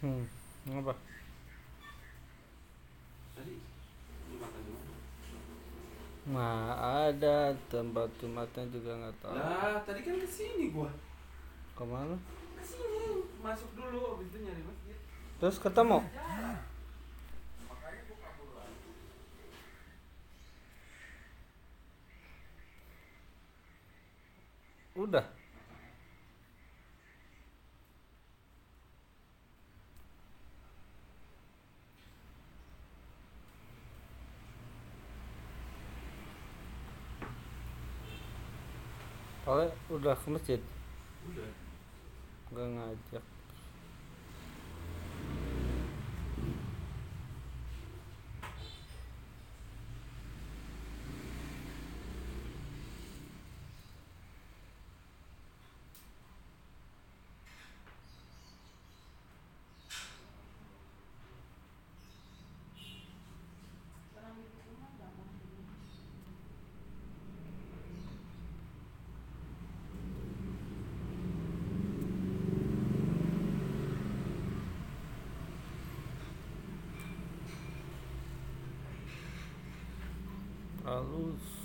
[SPEAKER 2] Apa?
[SPEAKER 3] Tadi lu makan di mana?
[SPEAKER 2] Nah, ada tempat tempatnya juga nggak tahu.
[SPEAKER 3] Lah, tadi kan kesini gua.
[SPEAKER 2] Kemana?
[SPEAKER 3] Kesini, masuk dulu, habis itu nyari masjid.
[SPEAKER 2] Terus ketemu? Udah. Oleh udah ke masjid,
[SPEAKER 3] Udah.
[SPEAKER 2] nggak ngajak. Halus.